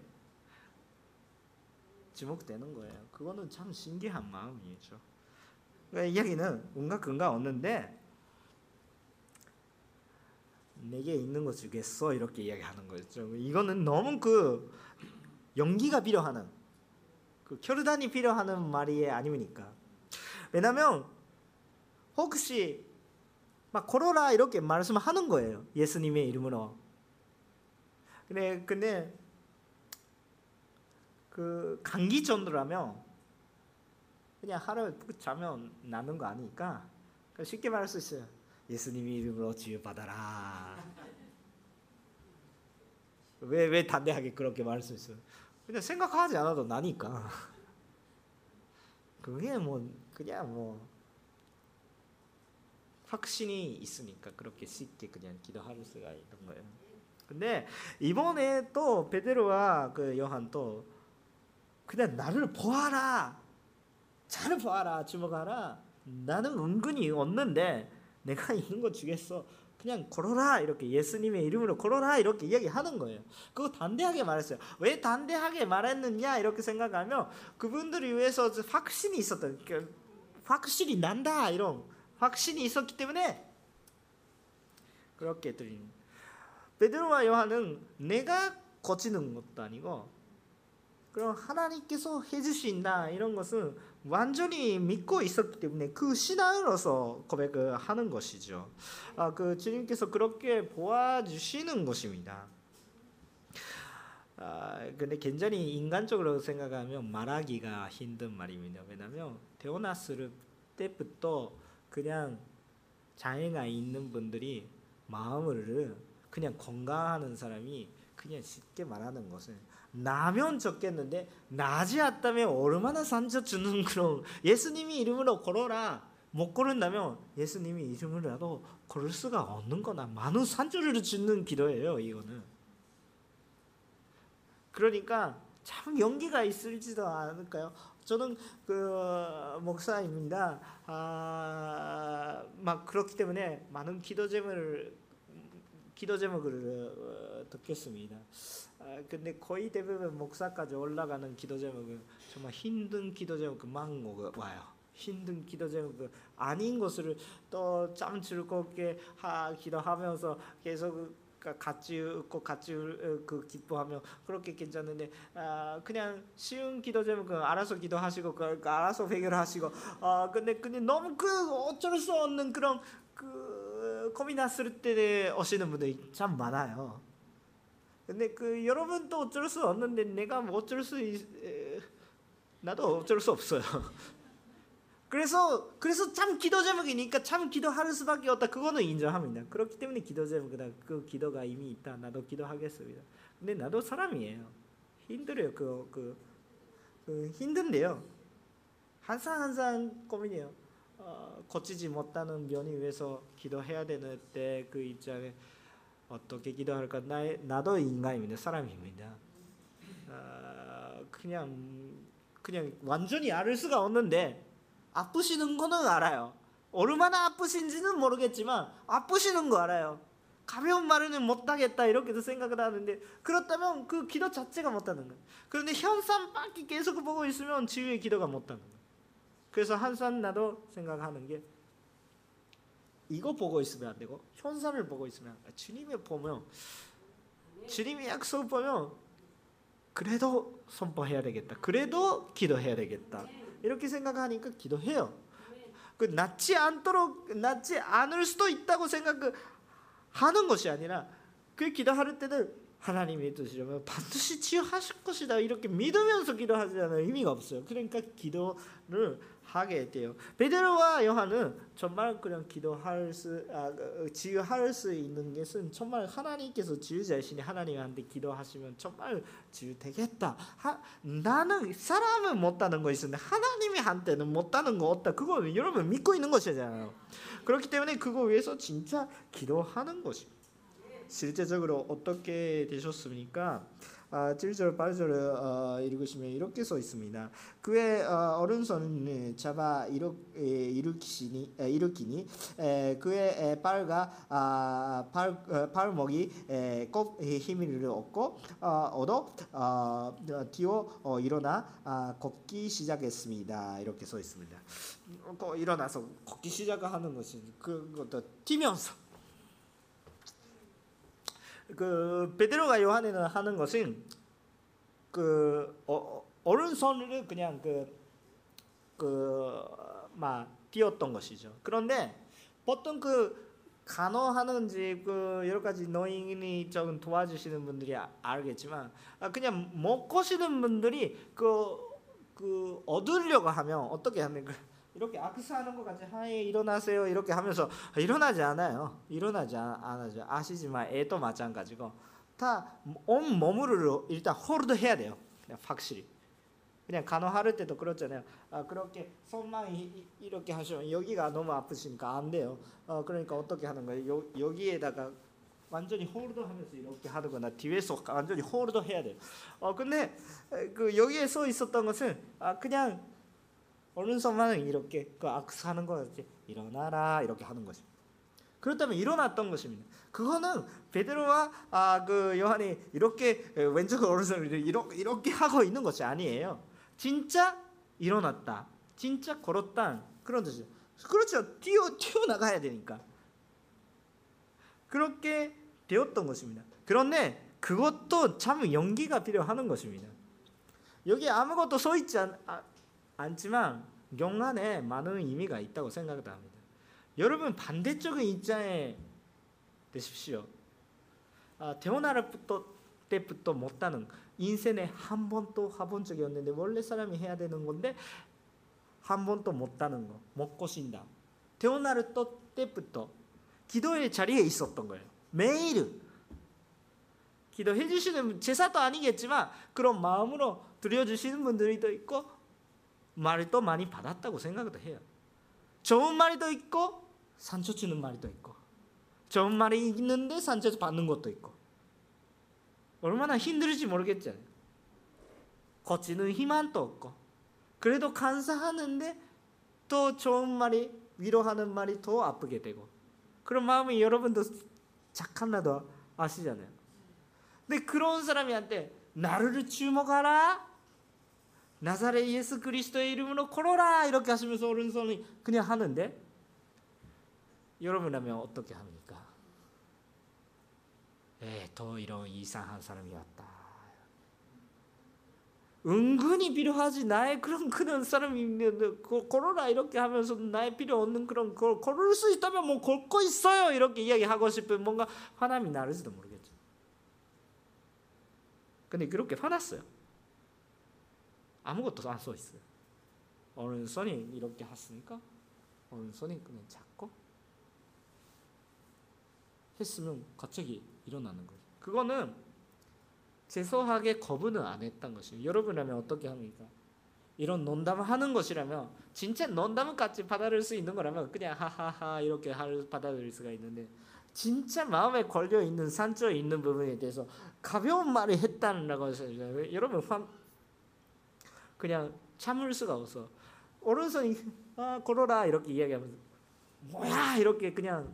주목되는 거예요. 그거는 참 신기한 마음이죠. 그러니까 이야기는 온갖 근거 없는데 내게 있는 거 주겠어 이렇게 이야기하는 거죠. 이거는 너무 그 용기가 필요하는 그 결단이 필요하는 말이 아닙니까? 왜냐하면 혹시 막 걸어라 이렇게 말씀하는 거예요. 예수님의 이름으로. 근데 근데 그 감기 정도라면 그냥 하루 푹 자면 나는 거 아니니까 쉽게 말할 수 있어요. 예수님의 이름으로 치유받아라. 왜, 왜 담대하게 그렇게 말할 수 있어요? 그냥 생각하지 않아도 나니까. 그게 뭐 그냥 뭐 확신이 있으니까 그렇게 쉽게 그냥 기도할 수가 있는 거예요. 근데 이번에 또 베드로와 그 요한 또 그냥 나를 보아라, 잘 보아라, 주목하라. 나는 은근히 없는데 내가 있는 거 주겠어. 그냥 걸어라 이렇게 예수님의 이름으로 걸어라 이렇게 이야기하는 거예요. 그거 담대하게 말했어요. 왜 담대하게 말했느냐 이렇게 생각하면 그분들을 위해서 확신이 있었던, 확실히 난다 이런 확신이 있었기 때문에 그렇게 드린. 베드로와 요한은 내가 고치는 것도 아니고 그럼 하나님께서 해주신다 이런 것은 완전히 믿고 있었기 때문에 그 신앙으로서 고백을 하는 것이죠. 아, 그 주님께서 그렇게 보아주시는 것입니다. 아, 근데 굉장히 인간적으로 생각하면 말하기가 힘든 말입니다. 왜냐하면 태어났을 때부터 그냥 장애가 있는 분들이 마음을 그냥 건강하는 사람이 그냥 쉽게 말하는 것은 나면 좋겠는데 나지 않다면 얼마나 상처 주는 그런 예수님이 이름으로 걸어라 못 걸은다면 예수님이 이름으로라도 걸을 수가 없는 거나 많은 상처를 주는 기도예요. 이거는 그러니까 참 용기가 있을지도 않을까요? 저는 그 목사입니다. 아, 막 그렇기 때문에 많은 기도 제목을 기도 제목을 듣겠습니다. 아, 근데 거의 대부분 목사까지 올라가는 기도 제목은 정말 힘든 기도 제목만 와요. 힘든 기도 제목 아닌 것을 또 참 즐겁게 하, 기도하면서 계속 같이 웃고 같이 그 기뻐하며 그렇게 괜찮은데 아, 그냥 쉬운 기도 제목은 알아서 기도하시고 그 알아서 해결하시고 아 근데 근데 너무 그 어쩔 수 없는 그런 그 고민했을 때 오시는 분들이 참 많아요. 근데 그 여러분도 어쩔 수 없는데 내가 뭐 어쩔 수 있, 에, 나도 어쩔 수 없어요. 그래서 그래서 참 기도 제목이니까 참 기도할 수밖에 없다. 그거는 인정합니다. 그렇기 때문에 기도 제목이다. 그 기도가 이미 있다. 나도 기도하겠습니다. 근데 나도 사람이에요. 힘들어요. 그, 그, 그 힘든데요. 항상 항상 고민이에요. 어, 고치지 못하는 면이 위해서 기도해야 되는 때 그 입장에 어떻게 기도할까? 나, 나도 인간입니다. 사람입니다. 어, 그냥 그냥 완전히 알 수가 없는데 아프시는 거는 알아요. 얼마나 아프신지는 모르겠지만 아프시는 거 알아요. 가벼운 말은 못하겠다 이렇게도 생각을 하는데 그렇다면 그 기도 자체가 못하는 거예요. 그런데 현상밖에 계속 보고 있으면 치유의 기도가 못하는 거예요. 그래서 항상 나도 생각하는 게 이거 보고 있으면 안 되고 현상을 보고 있으면 안 돼요. 주님을 보면 주님의 약속을 보면 그래도 선포해야 되겠다. 그래도 기도해야 되겠다. 이렇게 생각하니까 기도해요. 그 낫지 않도록 낫지 않을 수도 있다고 생각하는 것이 아니라 그 기도할 때는 하나님의 뜻이라면 반드시 치유하실 것이다 이렇게 믿으면서 기도하지는 의미가 없어요. 그러니까 기도를 하게 돼요. 베드로와 요한은 정말 그냥 기도할 수, 아, 치유할 수 있는 것은 정말 하나님께서 치유자이시니 하나님한테 기도하시면 정말 치유되겠다. 하, 나는 사람은 못하는 거 있는데 하나님이 한테는 못하는 거 없다. 그거는 여러분 믿고 있는 것이잖아요. 그렇기 때문에 그거 위해서 진짜 기도하는 것입니다. 실제적으로 어떻게 되셨습니까? 아, 칠 절 팔 절 어, 읽으시면 이렇게 써 있습니다. 그의 어, 오른손을 잡아 일으, 에, 일으키니, 에, 일으키니 에, 그의 에, 발과 아, 발, 어, 발목이 에, 꼭 힘을 얻고 어, 얻어 어, 뛰어 어, 일어나 아, 걷기 시작했습니다. 이렇게 써 있습니다. 어, 일어나서 걷기 시작하는 것이 그것도 뛰면서 그 베드로가 요한에는 하는 것은 그 어, 오른손을 그냥 그그막 띄었던 것이죠. 그런데 보통 그 간호하는지 그 여러 가지 노인이 좀 도와주시는 분들이 알겠지만 그냥 못 거시는 분들이 그, 그 얻으려고 하면 어떻게 하면 그 이렇게 악수하는 것 같이 하이 일어나세요 이렇게 하면서 일어나지 않아요. 일어나지 않아죠. 아시지만 애도 마찬가지고 다 온 몸으로 일단 홀드 해야 돼요. 그냥 확실히. 그냥 간호할 때도 그렇잖아요. 아, 그렇게 손만 이, 이렇게 하시면 여기가 너무 아프시니까 안 돼요. 어, 그러니까 어떻게 하는 거예요? 요, 여기에다가 완전히 홀드하면서 이렇게 하거나 뒤에서 완전히 홀드 해야 돼요. 어, 근데 그 여기에 써 있었던 것은 아, 그냥 오른손만 이렇게 그 악수하는 거였지. 일어나라 이렇게 하는 것입니다. 그렇다면 일어났던 것입니다. 그거는 베드로와 아, 그 요한이 이렇게 왼쪽 오른손을 이렇게, 이렇게 하고 있는 것이 아니에요. 진짜 일어났다. 진짜 걸었다. 그런 뜻이죠. 그렇죠. 뛰어 뛰어 나가야 되니까. 그렇게 되었던 것입니다. 그런데 그것도 참 용기가 필요하는 것입니다. 여기 아무것도 써 있지 않, 아, 않지만 영안에 많은 의미가 있다고 생각합니다. 여러분 반대적인 입장에 되십시오. 아, 태어날 때부터 못하는 인생에 한 번도 해본 적이 없는데 원래 사람이 해야 되는 건데 한 번도 못하는 거, 못 고신다. 태어날 때부터 기도의 자리에 있었던 거예요. 매일 기도해 주시는 제사도 아니겠지만 그런 마음으로 드려주시는 분들도 있고 말도 많이 받았다고 생각도 해요. 좋은 말도 있고 상처 주는 말도 있고 좋은 말이 있는데 상처 받는 것도 있고 얼마나 힘들지 모르겠잖아요. 고치는 희망도 없고 그래도 감사하는데 또 좋은 말이 위로하는 말이 더 아프게 되고 그런 마음이 여러분도 착한나도 아시잖아요. 근데 그런 사람한테 나를 주목하라 나사렛 예수 그리스도의 이름으로 걸어라 이렇게 하시면서 오른손이 그냥 하는데 여러분이라면 어떻게 합니까? 에, 더 이런 이상한 사람이 왔다. 은근히 필요하지 나의 그런 그런 사람이 걸어라 이렇게 하면서 나의 필요 없는 그런 걸 걸을 수 있다면 뭐 걸고 있어요 이렇게 이야기하고 싶은 뭔가 화남이 나를지도 모르겠죠. 근데 그렇게 화났어요. 아무것도 안 써 있어요. 오른손이 이렇게 했으니까 오른손이 그냥 잡고 했으면 갑자기 일어나는 거예요. 그거는 재소하게 거부는 안 했던 것이에요. 여러분이라면 어떻게 합니까? 이런 농담을 하는 것이라면 진짜 농담같이 받아들일 수 있는 거라면 그냥 하하하 이렇게 받아들일 수가 있는데 진짜 마음에 걸려있는 상처에 있는 부분에 대해서 가벼운 말을 했다는 것을 여러분 그냥 참을 수가 없어. 오른손이 아, 걸어라 이렇게 이야기하면서 뭐야 이렇게 그냥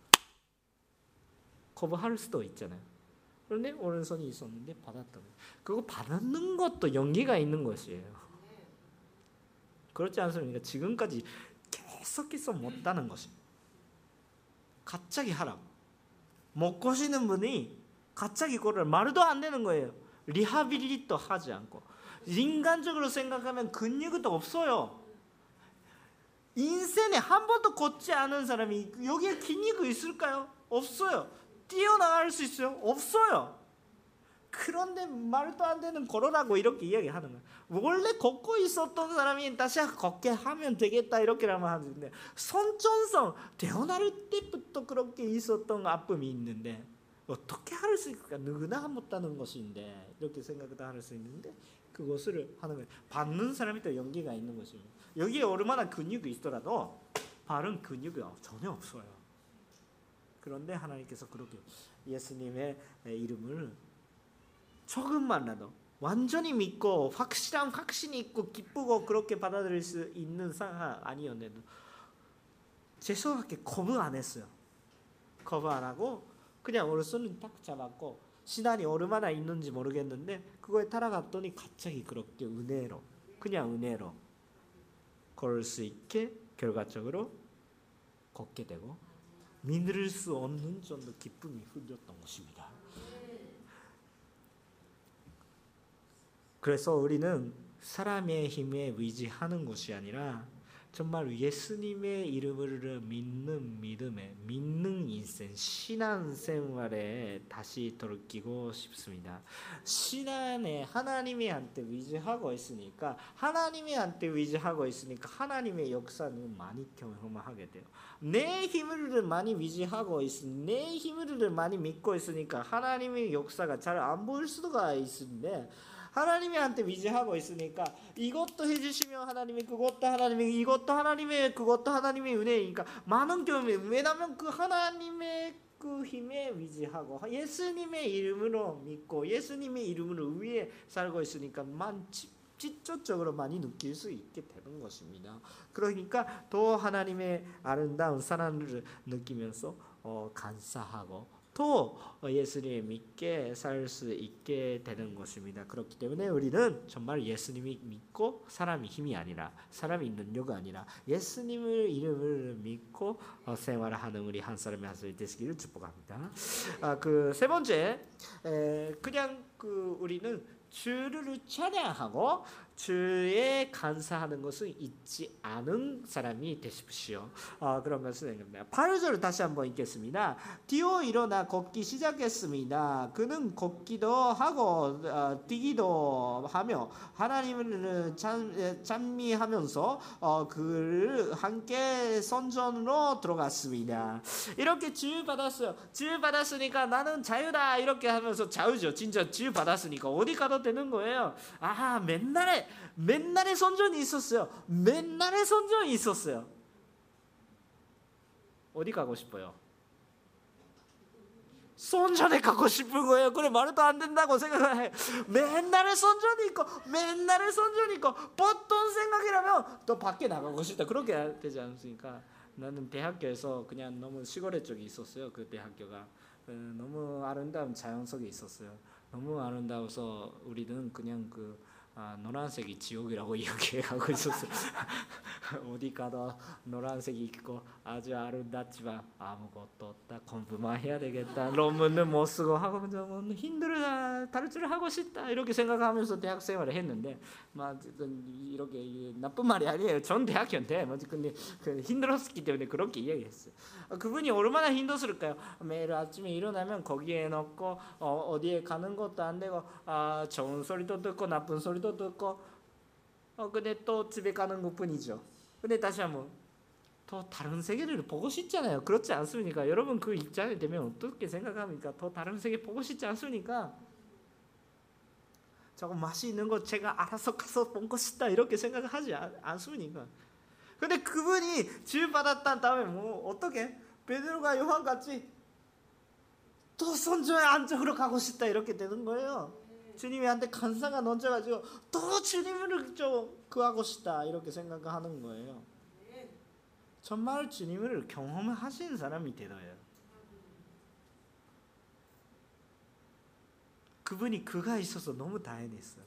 거부할 수도 있잖아요. 그런데 오른손이 있었는데 받았던 거예요. 그거 받는 것도 용기가 있는 것이에요. 그렇지 않습니까? 지금까지 계속해서 못하는 것입니다. 갑자기 하라고. 못 거시는 분이 갑자기 그걸 말도 안 되는 거예요. 리하빌리도 하지 않고. 인간적으로 생각하면 근육도 없어요. 인생에 한 번도 걷지 않은 사람이 여기에 근육이 있을까요? 없어요. 뛰어나갈 수 있어요? 없어요. 그런데 말도 안 되는 걸어라고 이렇게 이야기하는 거예요. 원래 걷고 있었던 사람이 다시 걷게 하면 되겠다 이렇게라면 하는데 선천성 태어날 때부터 그렇게 있었던 아픔이 있는데 어떻게 할 수 있을까? 누구나 못하는 것인데 이렇게 생각도 할 수 있는데 그것을 하는 거예요. 받는 사람이 또 용기가 있는 것입니다. 여기에 얼마나 근육이 있더라도 발은 근육이 전혀 없어요. 그런데 하나님께서 그렇게 예수님의 이름을 조금만라도 완전히 믿고 확실한 확신이 있고 기쁘고 그렇게 받아들일 수 있는 상황 아니었는데도 죄송하게 거부 안 했어요. 거부 안 하고 그냥 오른손은 딱 잡았고 신앙이 얼마나 있는지 모르겠는데 그거에 따라갔더니 갑자기 그렇게 은혜로 그냥 은혜로 걸을 수 있게 결과적으로 걷게 되고 믿을 수 없는 정도 기쁨이 흘렸던 것입니다. 그래서 우리는 사람의 힘에 의지하는 것이 아니라 정말 예수님의 이름을 믿는 믿음에 믿는 인생 신앙생활에 다시 돌이키고 싶습니다. 신앙에 하나님의 한테 의지하고 있으니까 하나님의 한테 의지하고 있으니까 하나님의 역사는 많이 경험하게 돼요. 내 힘을 많이 의지하고 있으니 내 힘을 많이 믿고 있으니까 하나님의 역사가 잘 안 보일 수가 있는데 하나님한테 의지하고 있으니까 이것도 해주시면 하나님이 그것도 하나님이 이것도 하나님의 그것도 하나님의 은혜이니까 많은 경험이 왜냐하면 그 하나님의 그 힘에 의지하고 예수님의 이름으로 믿고 예수님의 이름으로 위에 살고 있으니까 만 직접적으로 많이 느낄 수 있게 되는 것입니다. 그러니까 더 하나님의 아름다운 사랑을 느끼면서 어, 감사하고 또 예수님을 믿게 살 수 있게 되는 것입니다. 그렇기 때문에 우리는 정말 예수님이 믿고 사람이 힘이 아니라 사람이 능력이 아니라 예수님의 이름을 믿고 생활하는 우리 한 사람이 한 사람이 되시기를 축복합니다. 아, 그 세 번째 에, 그냥 그 우리는 주를 찬양하고 주에 감사하는 것을 잊지 않은 사람이 되십시오. 어, 그런 말씀입니다. 팔 절을 다시 한번 읽겠습니다. 뛰어 일어나 걷기 시작했습니다. 그는 걷기도 하고 어, 뛰기도 하며 하나님을 찬, 찬미하면서 어, 그를 함께 선전으로 들어갔습니다. 이렇게 지유 받았어요. 지유 받았으니까 나는 자유다 이렇게 하면서 자유죠. 진짜 지유 받았으니까 어디 가도 되는 거예요. 아 맨날에 맨날의 선전이 있었어요. 맨날의 선전이 있었어요. 어디 가고 싶어요? 선전에 가고 싶은 거예요. 그래 말도 안 된다고 생각해. 맨날의 선전이 있고 맨날의 선전이 있고 보통 생각이라면 또 밖에 나가고 싶다. 그렇게 되지 않습니까? 나는 대학교에서 그냥 너무 시골의 쪽에 있었어요. 그 대학교가 너무 아름다운 자연 속에 있었어요. 너무 아름다워서 우리는 그냥 그 아, 노란색이 지옥이라고 이야기하고 있었어요. 어디 가도 노란색이 있고 아주 아름답지만 아무것도 없다. 공부만 해야 되겠다. 논문은 못 쓰고 하고 좀 힘들다. 다른 줄 하고 싶다. 이렇게 생각하면서 대학 생활을 했는데 막 이렇게 나쁜 말이 아니에요. 전 대학교인데 근데 그 힘들었기 때문에 그렇게 이야기했어요. 그분이 얼마나 힘들었을까요? 매일 아침에 일어나면 거기에 넣고 어, 어디에 가는 것도 안 되고 아, 좋은 소리도 듣고 나쁜 소리도 듣고 어 근데 또 집에 가는 것뿐이죠. 근데 다시 한번 더 다른 세계를 보고 싶잖아요. 그렇지 않습니까? 여러분 그 입장이 되면 어떻게 생각합니까? 더 다른 세계 보고 싶지 않습니까? 조금 맛이 있는 거 제가 알아서 가서 본 것이다 이렇게 생각하지 않습니까? 근데 그분이 지을 받았단 다음에 뭐 어떻게 베드로가 요한같이 또 선조의 안쪽으로 가고 싶다 이렇게 되는 거예요. 주님한테 감사가 넘쳐가지고 또 주님을 좀 구하고 싶다 이렇게 생각하는 거예요. 정말 주님을 경험하신 사람이 되어요. 그분이 그가 있어서 너무 다행했어요.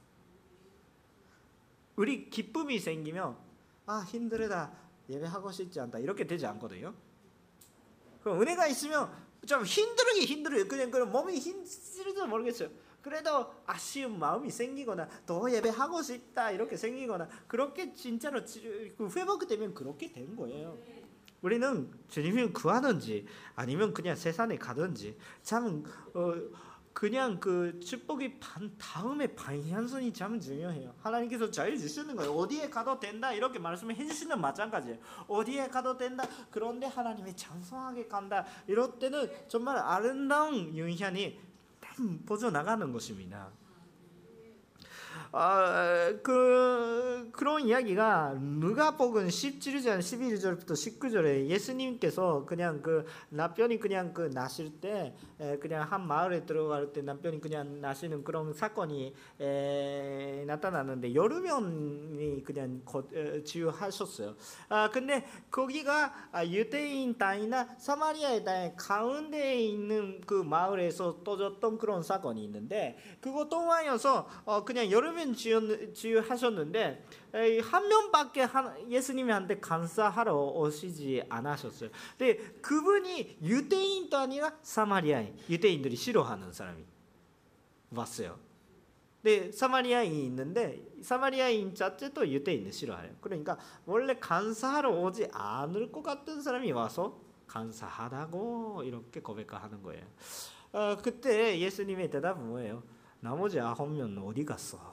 우리 기쁨이 생기면 아 힘들다 예배하고 싶지 않다 이렇게 되지 않거든요. 그럼 은혜가 있으면 좀 힘들기 힘들어요. 그냥 그런 몸이 힘들지도 모르겠어요. 그래도 아쉬운 마음이 생기거나 더 예배하고 싶다 이렇게 생기거나 그렇게 진짜로 회복되면 그렇게 된 거예요. 우리는 주님을 구하든지 아니면 그냥 세상에 가든지 참 어, 그냥 그 축복이 반 다음에 방향성이 참 중요해요. 하나님께서 자유 주시는 거예요. 어디에 가도 된다 이렇게 말씀을 해주시는 마찬가지예요. 어디에 가도 된다. 그런데 하나님이 장성하게 간다. 이럴 때는 정말 아름다운 영향이 퍼져 나가는 것입니다. 아, 그 그런 이야기가 누가복음 십칠 장 십일 절부터 십구 절에 예수님께서 그냥 그 남편이 그냥 그 나실 때 그냥 한 마을에 들어갈 때 남편이 그냥 나시는 그런 사건이 에, 나타났는데 여러 명이 그냥 거, 에, 치유하셨어요. 아 근데 거기가 유대인 땅이나 사마리아의 땅 가운데에 있는 그 마을에서 터졌던 그런 사건이 있는데 그거 통하여서 어, 그냥 여러 명 치유하셨는데 한 명밖에 예수님한테 감사하러 오시지 않으셨어요. 근데 그분이 유대인도 아니라 사마리아인, 유대인들이 싫어하는 사람이 왔어요. 근데 사마리아인이 있는데 사마리아인 자체도 유대인을 싫어해요. 그러니까 원래 감사하러 오지 않을 것 같은 사람이 와서 감사하다고 이렇게 고백하는 거예요. 어, 그때 예수님의 대답은 뭐예요? 나머지 아홉 명은 어디 갔어?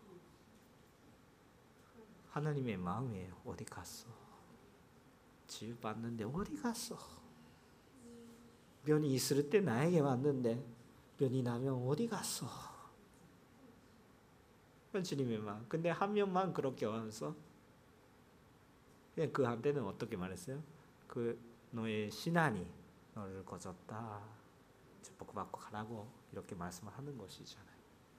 하나님의 마음이에요. 어디 갔어? 치유받는데 어디 갔어? 병이 있을 때 나에게 왔는데 병이 나면 어디 갔어? 주님의 마음. 근데 한 명만 그렇게 와서 그냥 그한테는 어떻게 말했어요? 그 너의 신앙이 너를 거졌다. 축복받고 가라고 이렇게 말씀하는 것이잖아요.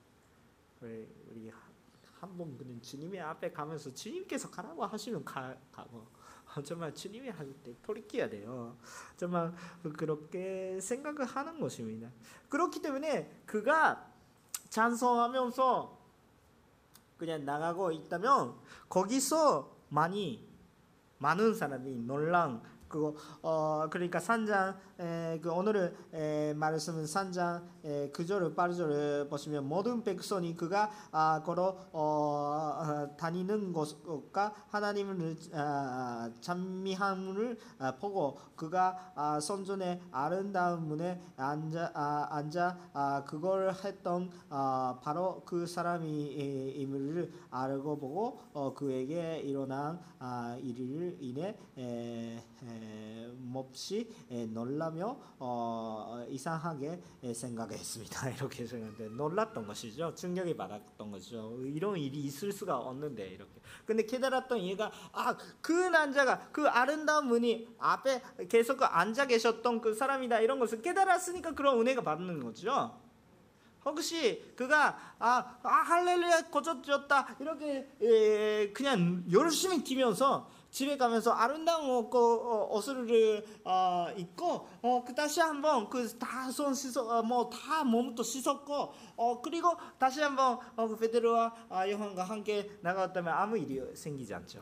우리 한번 그냥 주님의 앞에 가면서 주님께서 가라고 하시면 가, 가고 정말 주님이 할 때 돌이켜야 돼요. 정말 그렇게 생각을 하는 것입니다. 그렇기 때문에 그가 찬송하면서 그냥 나가고 있다면 거기서 많이 많은 사람이 놀란 그거 어 그러니까 삼 장 그 오늘의 에, 말씀은 삼 장 구 절 팔 절을 보시면 모든 백성이 그가 아, 걸어 어, 다니는 곳과 하나님을 아, 찬미함을 아, 보고 그가 아, 선전의 아름다운 문에 앉아 아, 앉아 아, 그걸 했던 아, 바로 그 사람임을 알고 보고 어, 그에게 일어난 아, 일을 인해 에, 에, 몹시 에, 놀라며 어, 이상하게 에, 생각했습니다. 이렇게 생각했는데 놀랐던 것이죠. 충격이 받았던 것이죠. 이런 일이 있을 수가 없는데 이렇게. 근데 깨달았던 얘가 아, 그 남자가 그 아름다운 분이 앞에 계속 앉아 계셨던 그 사람이다 이런 것을 깨달았으니까 그런 은혜가 받는 거죠. 혹시 그가 아, 아 할렐루야 고쳐졌다 이렇게 에, 그냥 열심히 뛰면서 집에 가면서 아름다운 옷을 어, 입고 어, 그 다시 한번 그 다 손 씻어 어, 뭐 다 몸도 씻었고 어, 그리고 다시 한번 어, 베드로와 아, 요한과 함께 나갔다면 아무 일이 생기지 않죠.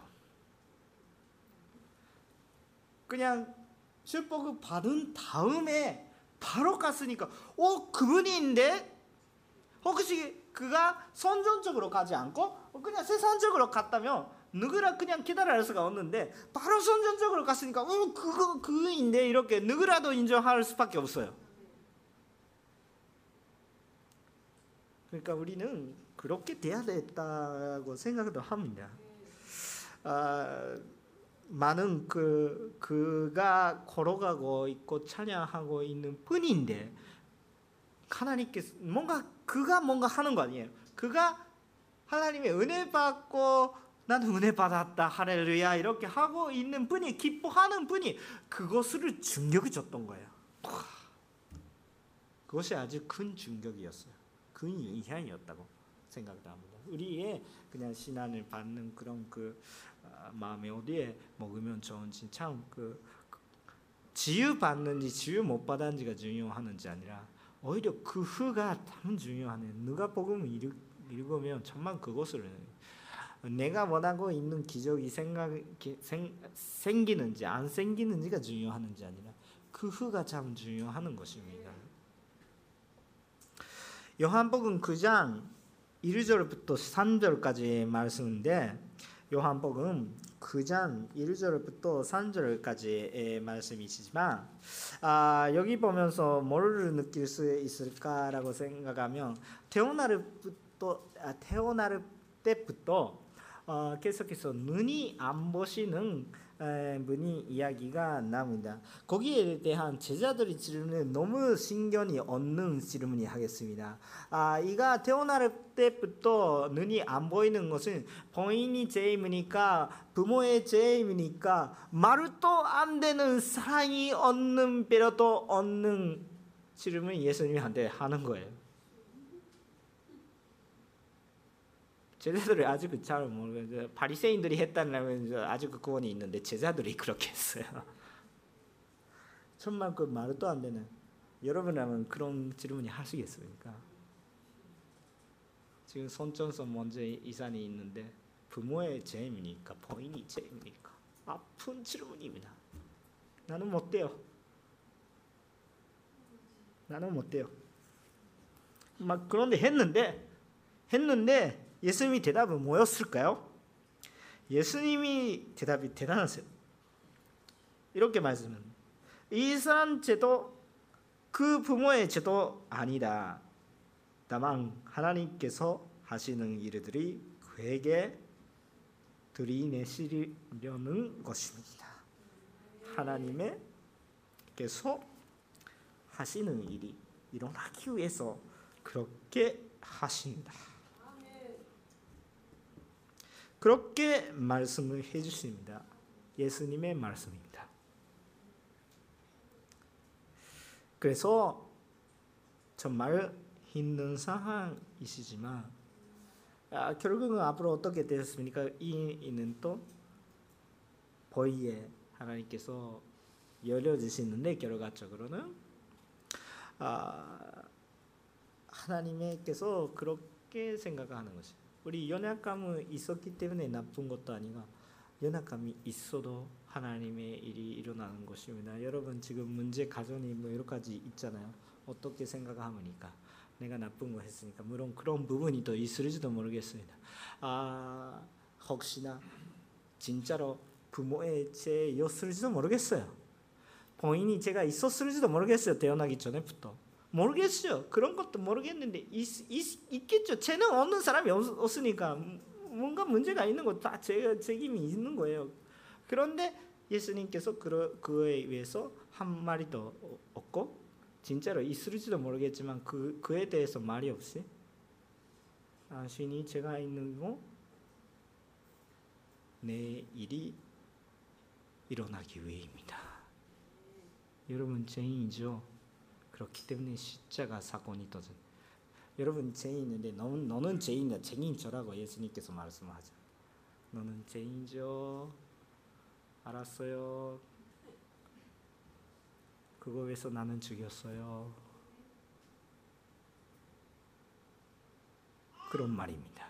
그냥 축복을 받은 다음에 바로 갔으니까 어 그분인데 혹시 그가 선전적으로 가지 않고 그냥 세상적으로 갔다면 누구라 그냥 기다릴 수가 없는데 바로 선전적으로 갔으니까 어 그거 그인데 이렇게 누구라도 인정할 수밖에 없어요. 그러니까 우리는 그렇게 돼야 됐다고 생각도 합니다. 아, 많은 그 그가 걸어가고 있고 찬양하고 있는 뿐인데 하나님께서 뭔가 그가 뭔가 하는 거 아니에요. 그가 하나님의 은혜 받고 나는 은혜 받았다 할렐루야 이렇게 하고 있는 분이 기뻐하는 분이 그것을 충격을 줬던 거예요. 그것이 아주 큰 충격이었어요. 큰 영향이었다고 생각합니다. 우리의 그냥 신앙을 받는 그런 그 마음에 어디에 먹으면 좋은지 참 그 지유 받는지 지유 못 받았는지가 중요하는지 아니라 오히려 그 후가 참 중요하네요. 누가복음을 읽으면 정말 그것을 내가 원하고 있는 기적이 생각, 생, 생기는지 안 생기는지가 중요하는지 아니라 그 후가 참 중요한 것입니다. 요한복음 구 장 일 절부터 삼 절까지 말씀인데 요한복음 구 장 일 절부터 삼 절까지의 말씀이시지만 아, 여기 보면서 뭐를 느낄 수 있을까라고 생각하면 태어날 때부터, 아, 태어날 때부터 어, 계속해서 눈이 안 보시는 분이 이야기가 나옵니다. 거기에 대한 제자들의 질문은 너무 신경이 없는 질문이 하겠습니다. 아, 이가 태어날 때부터 눈이 안 보이는 것은 본인이 죄입니까? 부모의 죄입니까? 말도 안 되는 사랑이 없는 배려도 없는 질문을 예수님한테 하는 거예요. 제자들이 아직 잘 모르겠어요. 바리새인들이 했다면 아직 그 구원이 있는데 제자들이 그렇게 했어요. 정말 그 말도 안 되는. 여러분이라면 그런 질문이 하시겠습니까? 지금 손전선 문제 이산이 있는데 부모의 죄입니까? 본인이 죄입니까? 아픈 질문입니다. 나는 못 돼요. 나는 못 돼요. 막 그런데 했는데 했는데. 예수님이 대답은 뭐였을까요? 예수님이 대답이 대단하세요. 이렇게 말씀은 이 사람 죄도 그 부모의 죄도 아니다. 다만 하나님께서 하시는 일들이 그에게 들이내시려는 것입니다. 하나님께서 하시는 일이 일어나기 위해서 그렇게 하신다. 그렇게 말씀을 해주십니다. 예수님의 말씀입니다. 그래서 정말 힘든 상황이시지만 아, 결국은 앞으로 어떻게 되었습니까? 이 이는 또 보이에 하나님께서 열려주시는데 결과적으로는 아, 하나님께서 그렇게 생각하는 것이에요. 우리 연약감은 있었기 때문에 나쁜 것도 아니고 연약감이 있어도 하나님의 일이 일어나는 것입니다. 여러분 지금 문제 가정이 뭐 여러 가지 있잖아요. 어떻게 생각합니까? 내가 나쁜 거 했으니까 물론 그런 부분이 또 있을지도 모르겠습니다. 아 혹시나 진짜로 부모의 죄였을지도 모르겠어요. 본인이 죄가 있었을지도 모르겠어요. 태어나기 전에부터. 모르겠어요. 그런 것도 모르겠는데 있, 있, 있겠죠. 죄는 없는 사람이 없, 없으니까 뭔가 문제가 있는 거 다 책임이 있는 거예요. 그런데 예수님께서 그, 그에 의해서 한 마리도 없고 진짜로 있을지도 모르겠지만 그, 그에 대해서 말이 없이 당신이 죄가 있는 거 내 일이 일어나기 위해입니다. 여러분 죄인이죠. 그렇기 때문에 십자가 사건이 터진. 여러분 죄인인데 너는 너는 죄인이야. 죄인 저라고 예수님께서 말씀하죠. 너는 죄인이죠. 알았어요. 그거 위해서 나는 죽였어요. 그런 말입니다.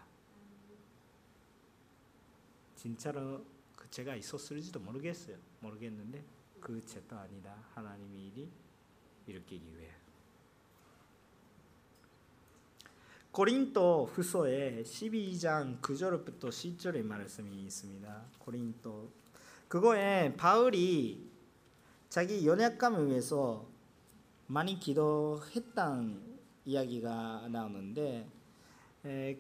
진짜로 그 죄가 있었을지도 모르겠어요. 모르겠는데 그 죄도 아니다. 하나님의 일이 일으키기 위해. 고린도 후서에 십이 장 구 절부터 십 절의 말씀이 있습니다. 고린도 그거에 바울이 자기 연약감을 위해서 많이 기도했다는 이야기가 나오는데 에,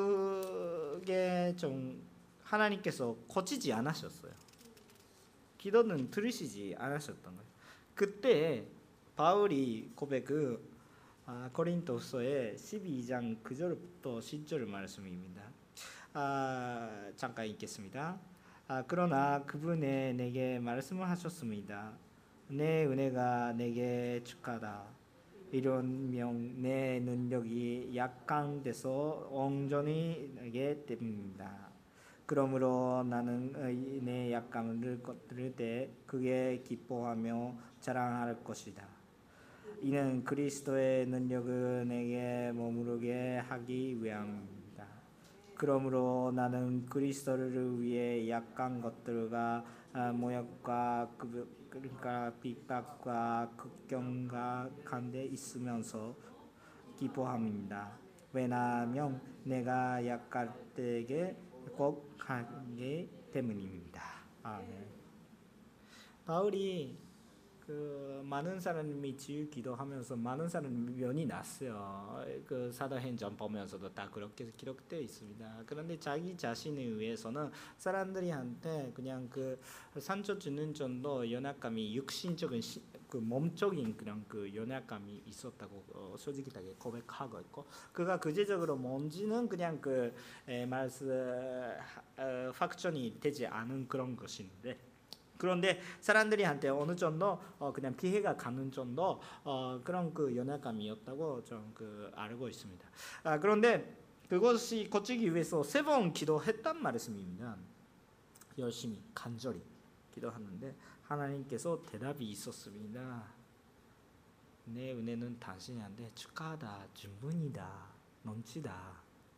그게 좀 하나님께서 고치지 않으셨어요. 기도는 들으시지 않으셨던 거예요. 그때 바울이 고백을 아, 고린도서의 십이 장 구 절부터 십 절 말씀입니다. 아, 잠깐 읽겠습니다. 아, 그러나 그분의 내게 말씀을 하셨습니다. 내 은혜가 내게 축하다. 이러면 내 능력이 약한 데서 온전히 내게 됩니다. 그러므로 나는 내 약함을 들을 때 그게 기뻐하며 자랑할 것이다. 이는 그리스도의 능력을 내게 머무르게 하기 위함입니다. 그러므로 나는 그리스도를 위해 약한 것들과 모욕과 그러니까 핍박과 극경과 간데 있으면서 기뻐합니다. 왜냐하면 내가 약할 때에 꼭 하기 때문입니다. 아멘. 바울이 그 많은 사람이 지유 기도하면서 많은 사람이 면이 났어요. 그 사도행전 보면서도 다 그렇게 기록되어 있습니다. 그런데 자기 자신을 위해서는 사람들이한테 그냥 그 상처 주는 정도 연약감이 육신적인 시, 그 몸적인 그런 그 연약감이 있었다고 어, 솔직하게 고백하고 있고, 그가 구체적으로 뭔지는 그냥 그 에, 말씀 어, 확정이 되지 않은 그런 것인데, 그런데 사람들이한테 어느 정도 어 그냥 피해가 가는 정도 어 그런 그 연약감이었다고 좀 그 알고 있습니다. 아, 그런데 그것이 고치기 위해서 세 번 기도했단 말씀입니다. 열심히 간절히 기도하는데 하나님께서 대답이 있었습니다. 내 은혜는 당신한테 축하하다, 충분이다, 넘치다.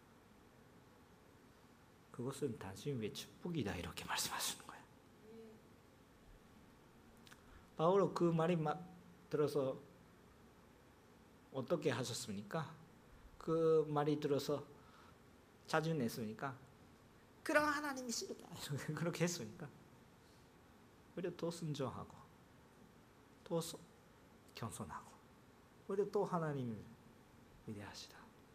그것은 당신 위해 축복이다, 이렇게 말씀하시는 거예요. 바울은 그 말이 막 들어서 어떻게 하셨습니까? 그 말이 들어서 자주 냈습니까? 그럼 하나님이 싫다, 그렇게 했습니까? 오히려 더 순종하고 더 겸손하고 오히려 또 하나님을 위대하시다,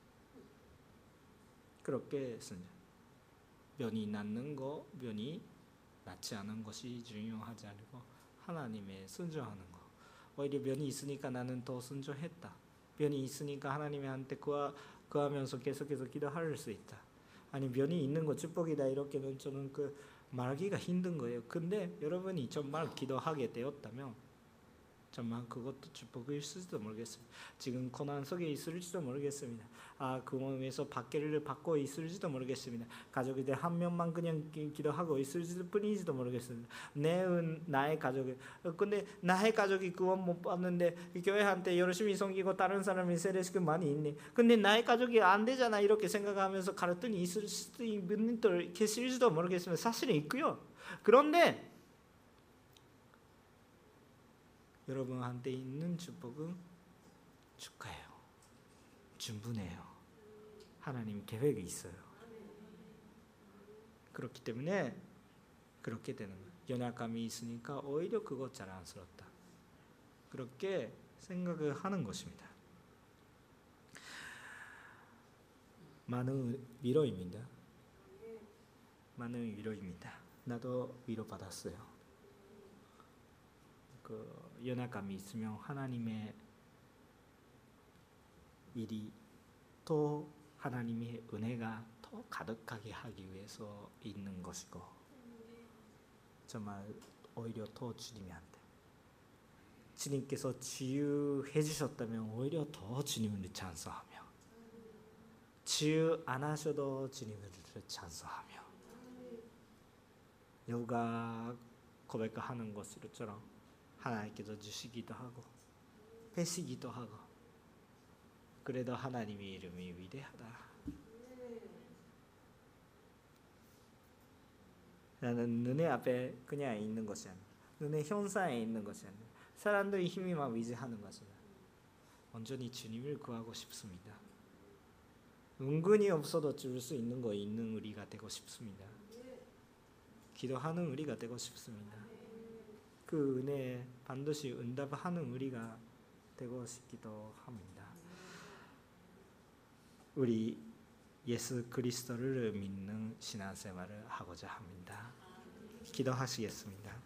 그렇게 순종. 면이 낫는 거, 면이 낫지 않은 것이 중요하지 않고 하나님의 순종하는 거. 오히려 면이 있으니까 나는 더 순종했다. 면이 있으니까 하나님한테 구하, 구하면서 계속해서 기도할 수 있다. 아니, 면이 있는 거 축복이다, 이렇게는 저는 그 말하기가 힘든 거예요. 근데 여러분이 정말 기도하게 되었다면 정말 그것도 축복일 수도 모르겠습니다. 지금 고난 속에 있을지도 모르겠습니다. 아, 그 몸에서 박해를 받고 있을지도 모르겠습니다. 가족들 한 명만 그냥 기도하고 있을지도 뿐이지도 모르겠습니다. 내 나의 가족이, 근데 나의 가족이 구원 못 받는데 교회한테 열심히 섬기고 다른 사람이 세례시키고 많이 있네. 근데 나의 가족이 안 되잖아, 이렇게 생각하면서 갈등이 있을 수도 있는 분들 계실지도 모르겠습니다. 사실은 있고요. 그런데 여러분한테 있는 축복은 축하해요. 충분해요. 하나님 계획이 있어요. 그렇기 때문에 그렇게 되는 거예요. 연약감이 있으니까 오히려 그거 자랑스럽다, 그렇게 생각을 하는 것입니다. 많은 위로입니다. 많은 위로입니다. 나도 위로받았어요. 그 연약감이 있으면 하나님의 일이 또 하나님의 은혜가 더 가득하게 하기 위해서 있는 것이고, 정말 오히려 더 주님한테, 주님께서 치유해 주셨다면 오히려 더 주님을 찬송하며, 치유 안 하셔도 주님을 찬송하며, 여우가 고백하는 것처럼 하나님께서 주시기도 하고 뺏기기도 하고, 그래도 하나님의 이름이 위대하다. 나는 너네 앞에 그냥 있는 것이 아니라 너네 형상에 있는 것이 아니라 사람들의 힘이만 위지하는 것이다. 온전히 주님을 구하고 싶습니다. 은근히 없어도 줄 수 있는 거 있는 우리가 되고 싶습니다. 기도하는 우리가 되고 싶습니다. 그 은혜에 반드시 응답하는 우리가 되고 싶기도 합니다. 우리 예수 그리스도를 믿는 신앙생활을 하고자 합니다. 기도하시겠습니다.